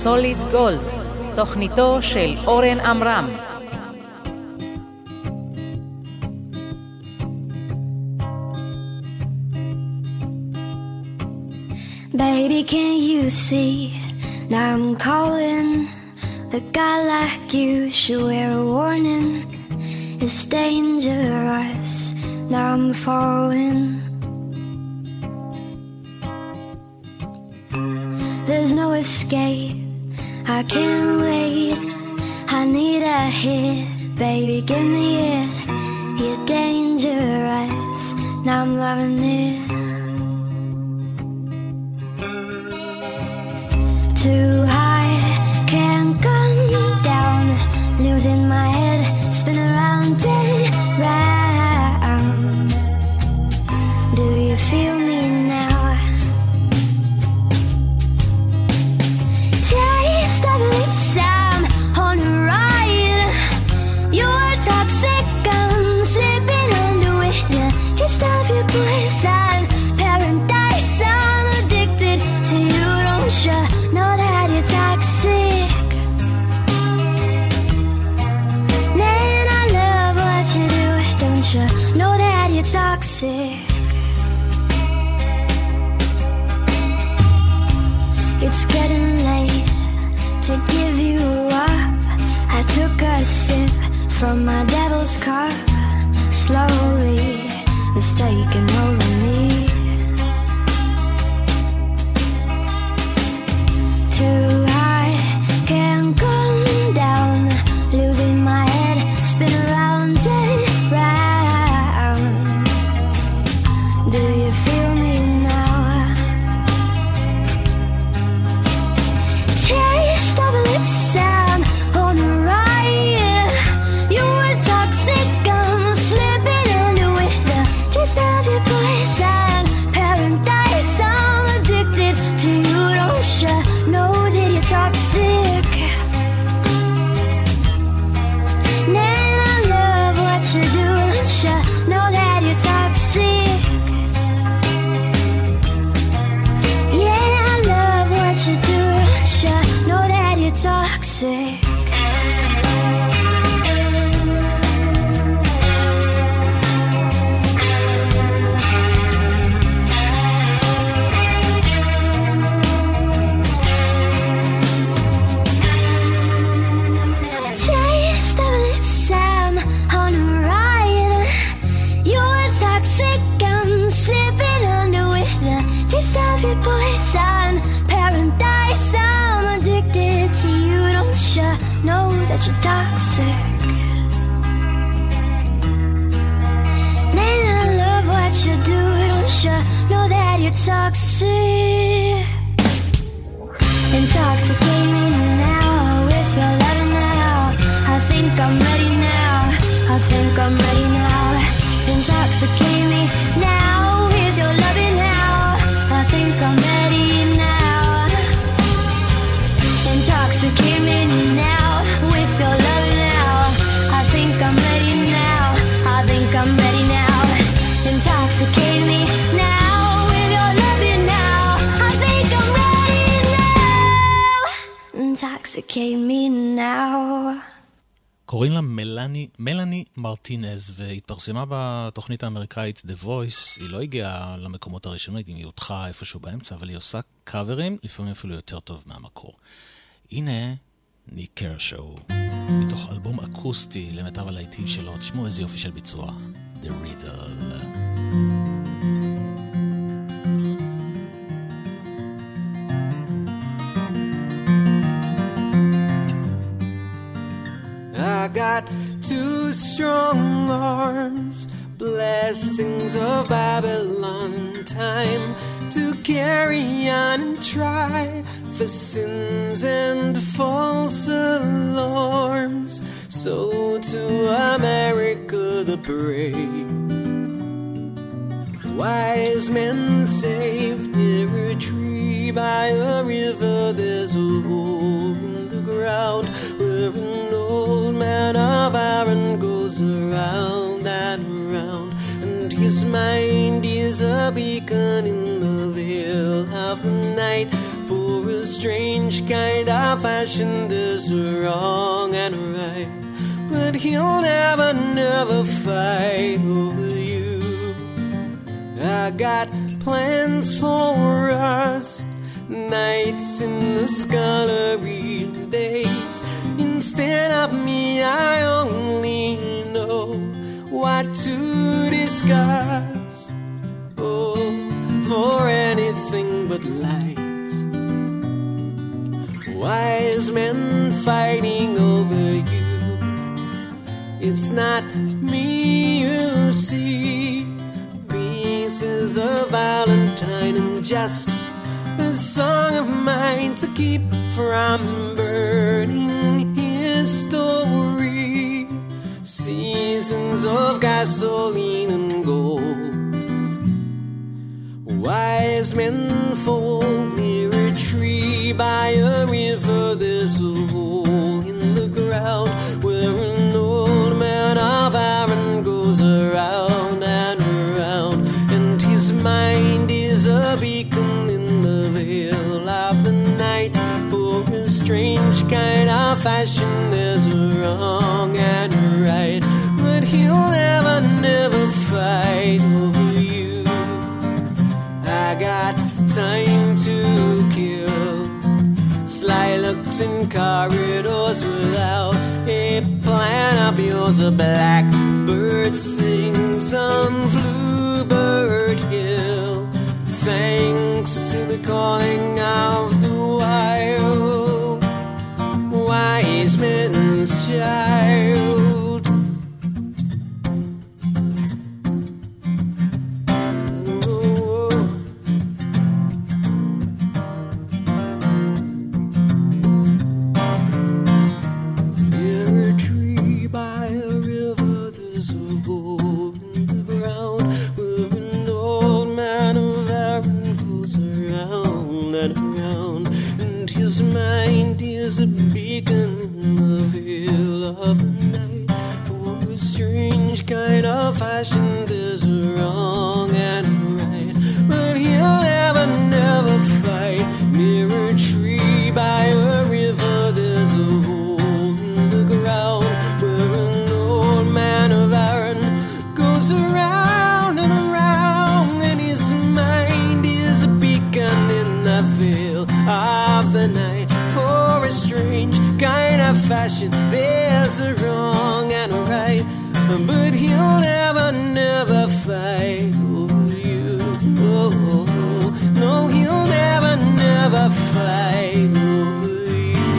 סוליד גולד, תוכניתו של אורן עמרם. Baby, can't you see now I'm calling? A guy like you should wear a warning. It's dangerous, now I'm falling. There's no escape, I can't wait. I need a hit, baby, give me it. You're dangerous, now I'm loving it. Too high, can't come down. Losing my head, spin around and round. Do you feel me now? Taste of lips, I'm on a ride. You're toxic, I'm slipping under with you. Just off your poison, paradise. I'm addicted to you, don't you know that you're toxic? Man, I love what you do, don't you know that you're toxic? It's getting late to give you up. I took a sip from my devil's cup. Slowly, it's taking over me. Too high, can't come down. Losing my head, spin around and round. Do you feel me now? Taste of the lips, I'm on the ride. You were toxic, I'm slipping under with the taste of your poison. Paradise, I'm addicted to you, don't you know that you're toxic? Man, I love what you do, don't you know that you're toxic? Yeah, I love what you do, don't you know that you're toxic? Taste of lips, I'm on a ride. You're toxic, I'm slipping under with the taste of your poison. Paradise, I'm addicted to you, don't you know that you're toxic? Man, I love what you do, don't you know that you're toxic? Intoxicate me now with your loving now. I think I'm ready now. I think I'm ready now. Intoxicate me now with your loving now. I think I'm ready now. Intoxicate me now with your loving now. I think I'm ready now. I think I'm ready now. Intoxicate me now with your loving now. I think I'm ready now. Intoxicate me now. קוראים לה מלאני מרטינז, והתפרסמה בתוכנית האמריקאית The Voice. היא לא הגיעה למקומות הראשונים, היא הותחה איפשהו באמצע, אבל היא עושה קאברים, לפעמים אפילו יותר טוב מהמקור. הנה ניק קרשו, מתוך אלבום אקוסטי למיטב הלהיטים שלו. תשמעו איזה יופי של ביצוע, The Riddle. I got two strong arms, blessings of Babylon, time to carry on and try for sins and false alarms. So to America the brave, wise men saved near a tree by a river. There's a hole in the ground where an old man of iron goes around and around, and his mind is a beacon in the veil of the night for a strange kind of fashion. There's a wrong and a right, but he'll never, never fight over you. I got plans for us, nights in the scullery, days. Instead of me, I only know what to discuss. Oh, for anything but light. Wise men fighting over you. It's not me you see. Pieces of Valentine and just a song of mine to keep from burning his story. Seasons of gasoline and gold. Wise men fall near a tree by a river. There's a hole in the ground where an old man of iron goes around and around, and his mind is a beacon in the veil of the night. For a strange kind of fashion, there's a wrong and a right, but he'll never, never fight over you. I got time to kill, sly looks in corridors without a plan of yours. A blackbird sings on Bluebird Hill, thanks to the calling of the wild, wise men's child. Near a tree by a river, there's a hole in the ground where an old man of iron goes around and around, and his mind is a beacon in the veil of the night. For a strange kind of fashion, there's a wrong and a right, but he'll never, never fight. Near a tree by a river, there's a hole in the ground where an old man of iron goes around and around, and his mind is a beacon in the veil of the night. For a strange kind of fashion, there's a wrong and a right, but he'll never, never fight over you. Oh, oh, oh. No, he'll never, never fight over you.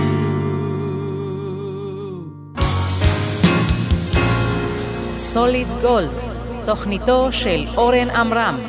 סוליד גולד, תוכניתו של אורן עמרם.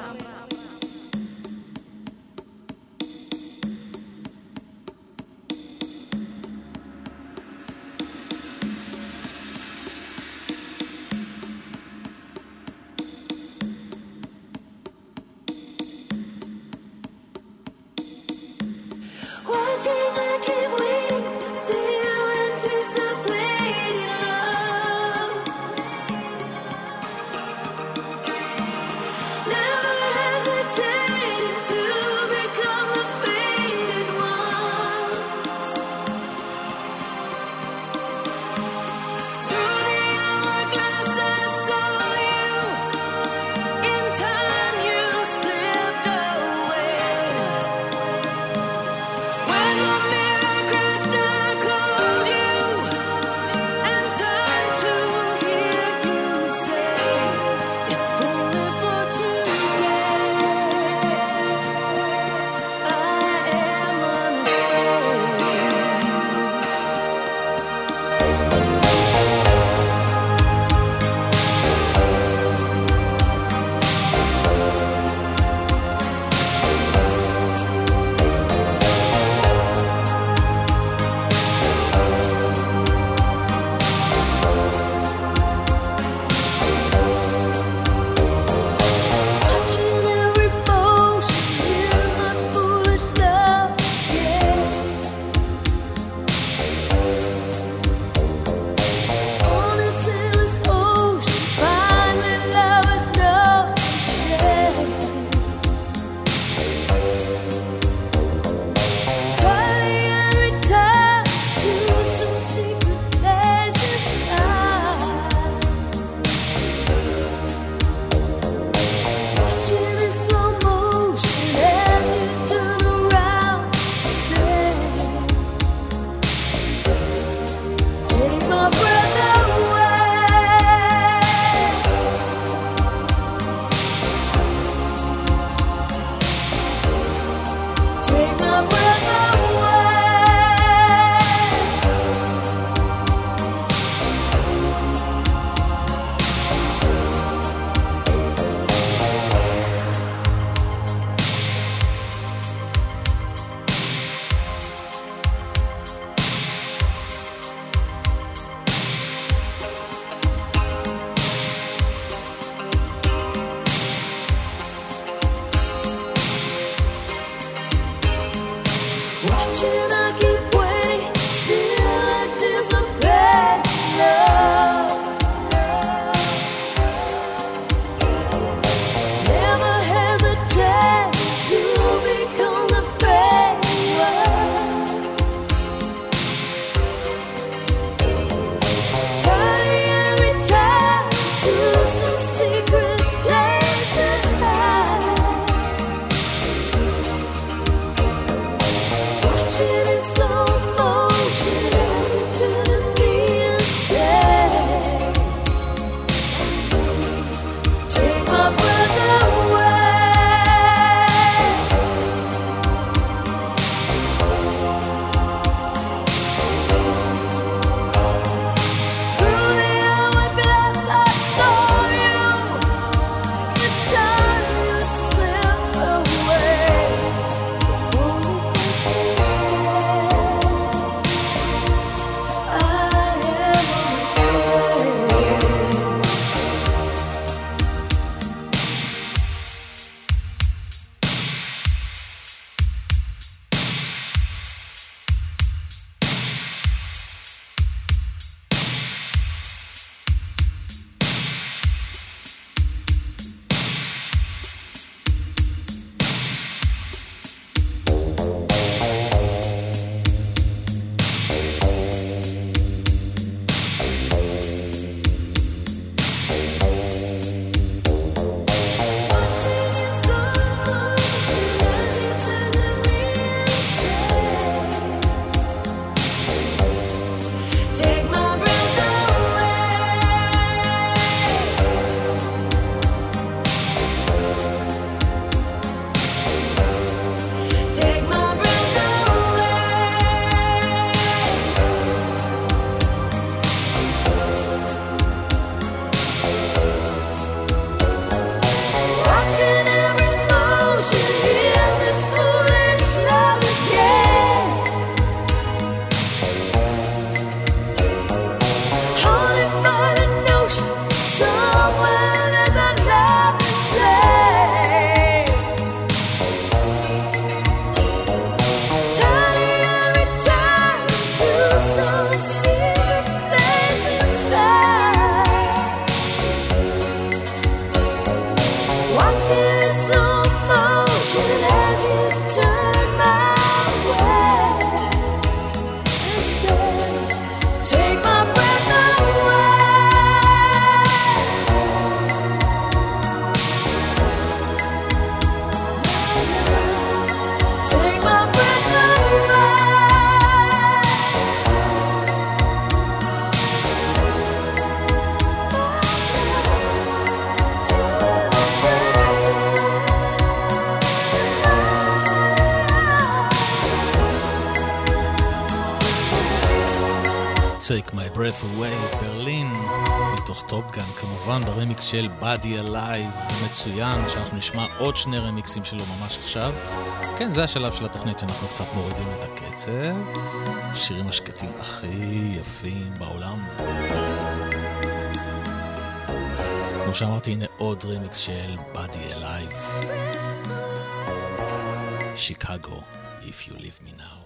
Watching, I keep waiting, stay out and chase the fading love. Now Take My Breath Away, ברלין, מתוך טופגן, כמובן ברמיקס של Body Alive, מצוין, שאנחנו נשמע עוד 2 רמיקסים שלו ממש עכשיו. כן, זה השלב של התוכנית שאנחנו קצת מורידים את הקצב. שירים השקטים הכי יפים בעולם. כמו שאמרתי, הנה עוד רמיקס של Body Alive. Chicago, If You Leave Me Now.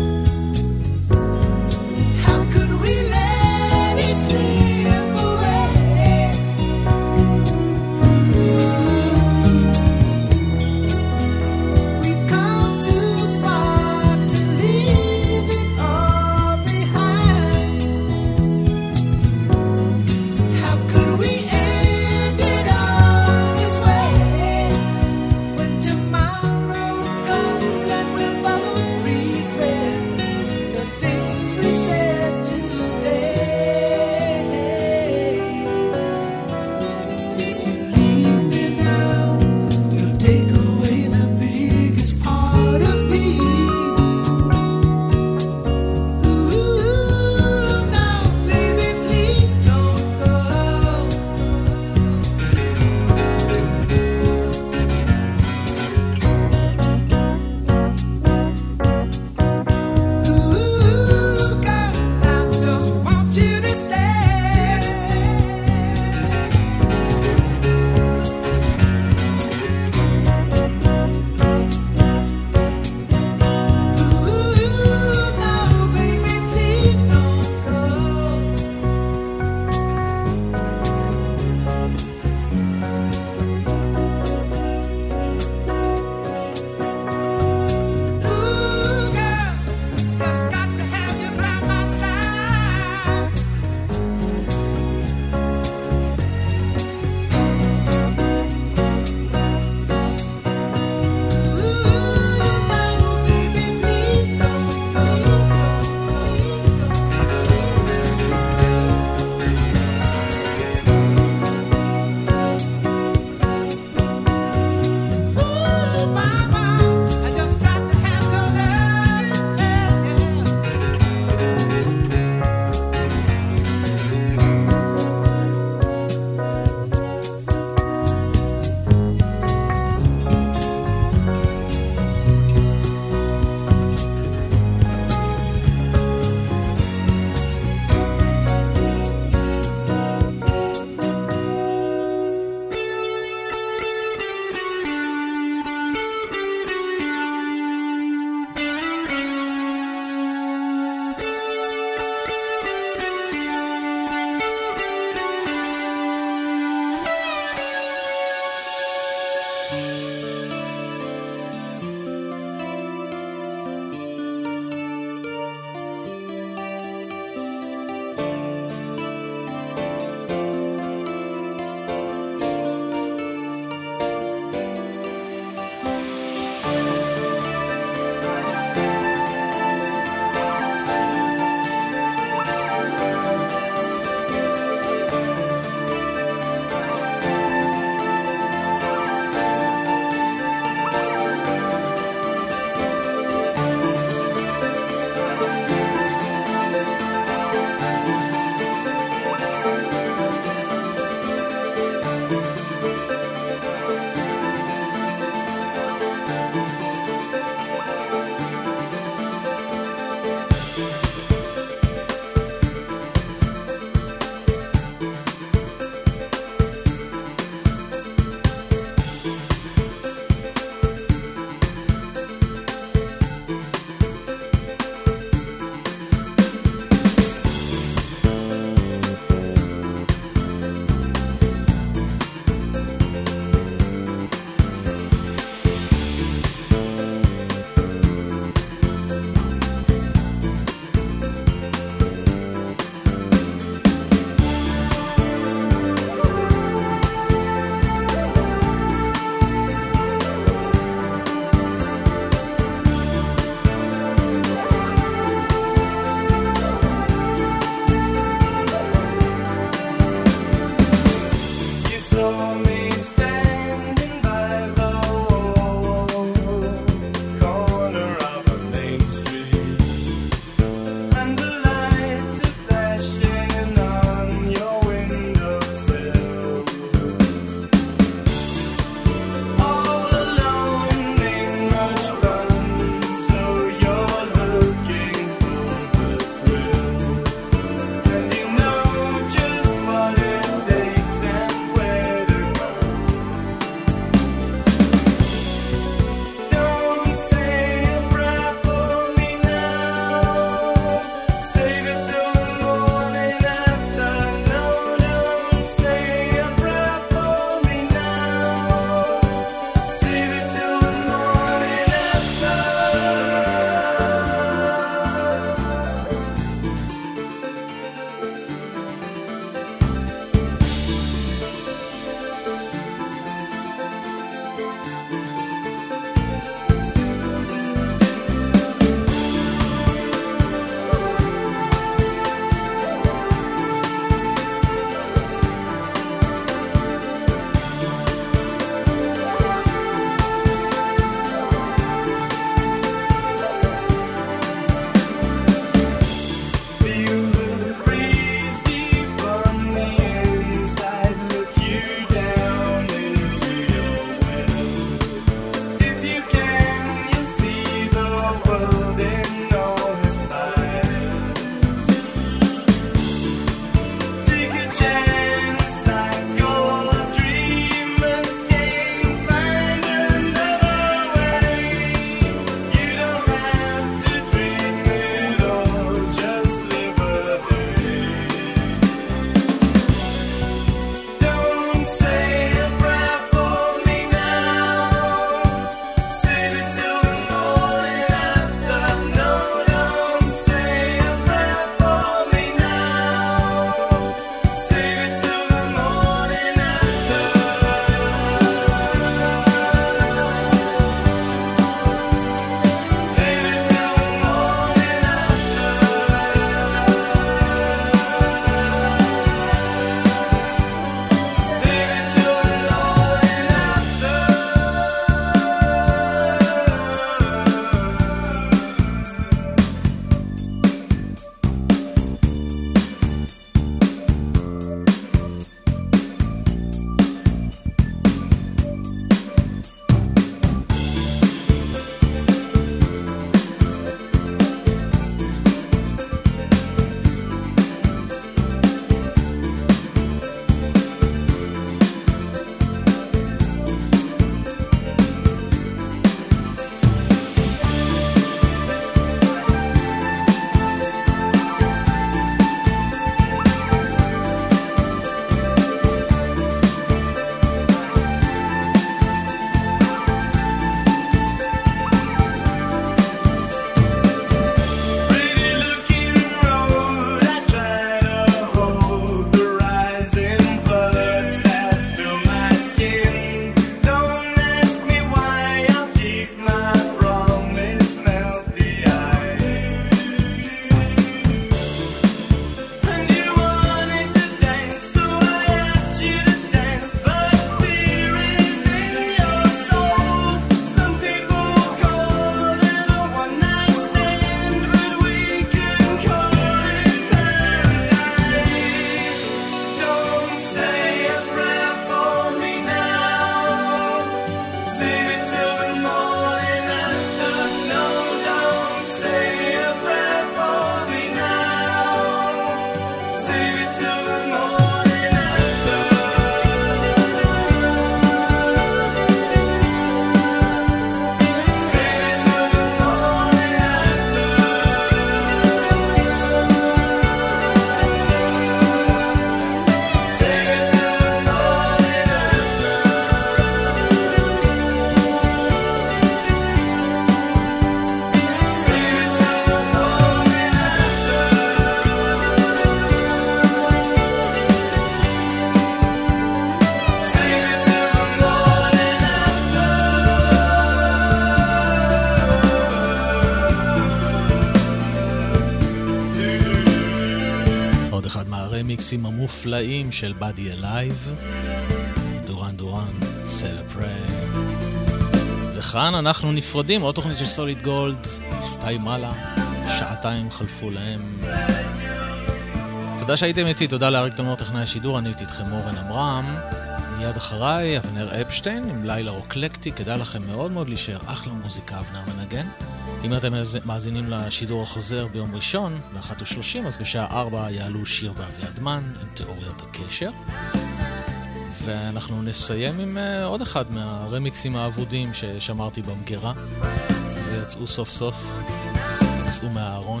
הרמיקסים המופלאים של Body Alive, דורן דורן, Celebrate. וכאן אנחנו נפרדים, עוד תוכנית של סוליד גולד, הסתיימה, שעתיים חלפו להם. תודה שהייתם איתי, תודה לאריק תלמור טכנאי השידור, אני הייתי איתכם אורן עמרם. מיד אחריי, אבנר אפשטיין עם לילה רוקלקטי, כדאי לכם מאוד מאוד להישאר, אחלה מוזיקה אבנר מנגן. אם אתם מאזינים לשידור החוזר ביום ראשון, ב-1:30, אז בשעה 4 יעלו שיר ואביעדמן עם תיאוריית הקשר. ואנחנו נסיים עם עוד אחד מהרמיקסים האבודים ששמרתי במגירה, ויצאו סוף סוף, יצאו מהארון,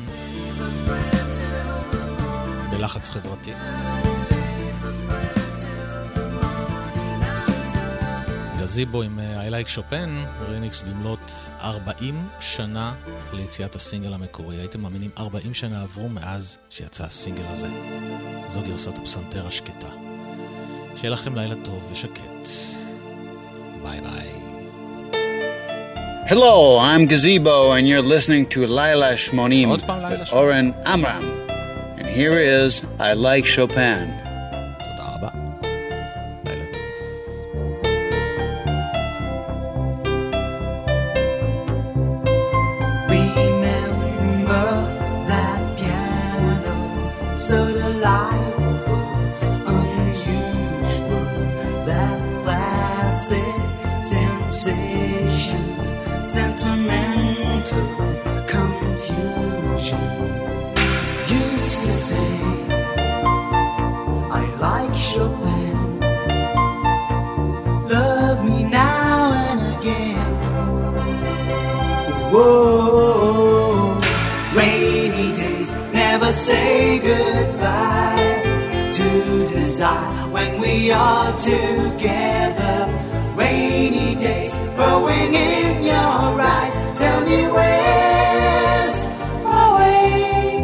בלחץ חברתי. גזיבו עם I Like Chopin, רמיקס במלאת 40 שנה ליציאת הסינגל המקורי. הייתם מאמינים 40 שנה עברו מאז שיצא הסינגל הזה. זו גרסת הפסנתר השקטה. שיהיה לכם לילה טוב ושקט. ביי ביי. Hello, I'm Gazebo and you're listening to Laila Shmonim with Oren Amram. And here is I Like Chopin. Sentimental confusion. Used to say I like Chopin. Love me now and again. Whoa, rainy days never say goodbye to desire when we are together. Rainy days growing in your eyes. Tell me where's my way.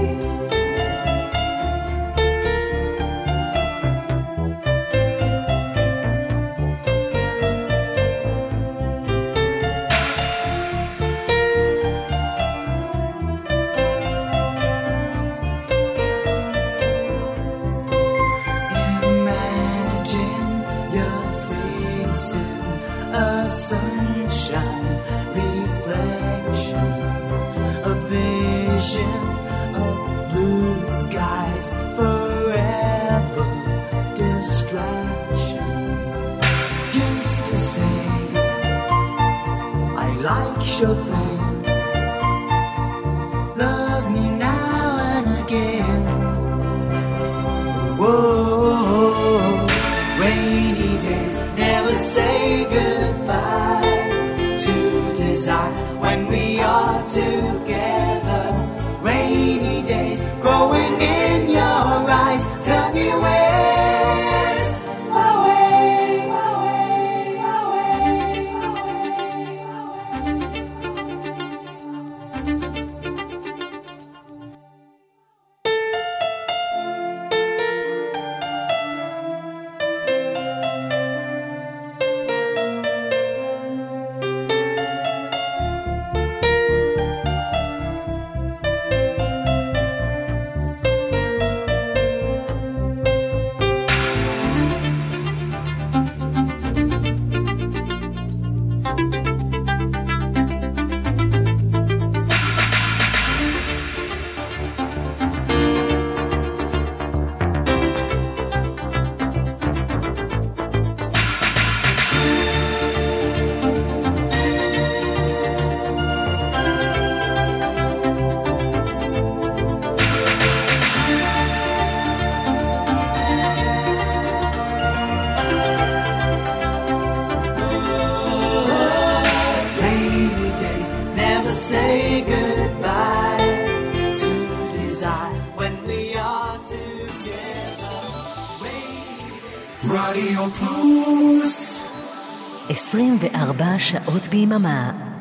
Imagine your face in a sunshine reflection, a vision of blue skies, forever distractions. Used to say I like Chopin. Love me now and again. Whoa, rainy days never say goodbye to desire when we are together. Rainy days growing in your eyes. Tell me where's my way, my way, my way, my רדיו פלוס 24 שעות ביממה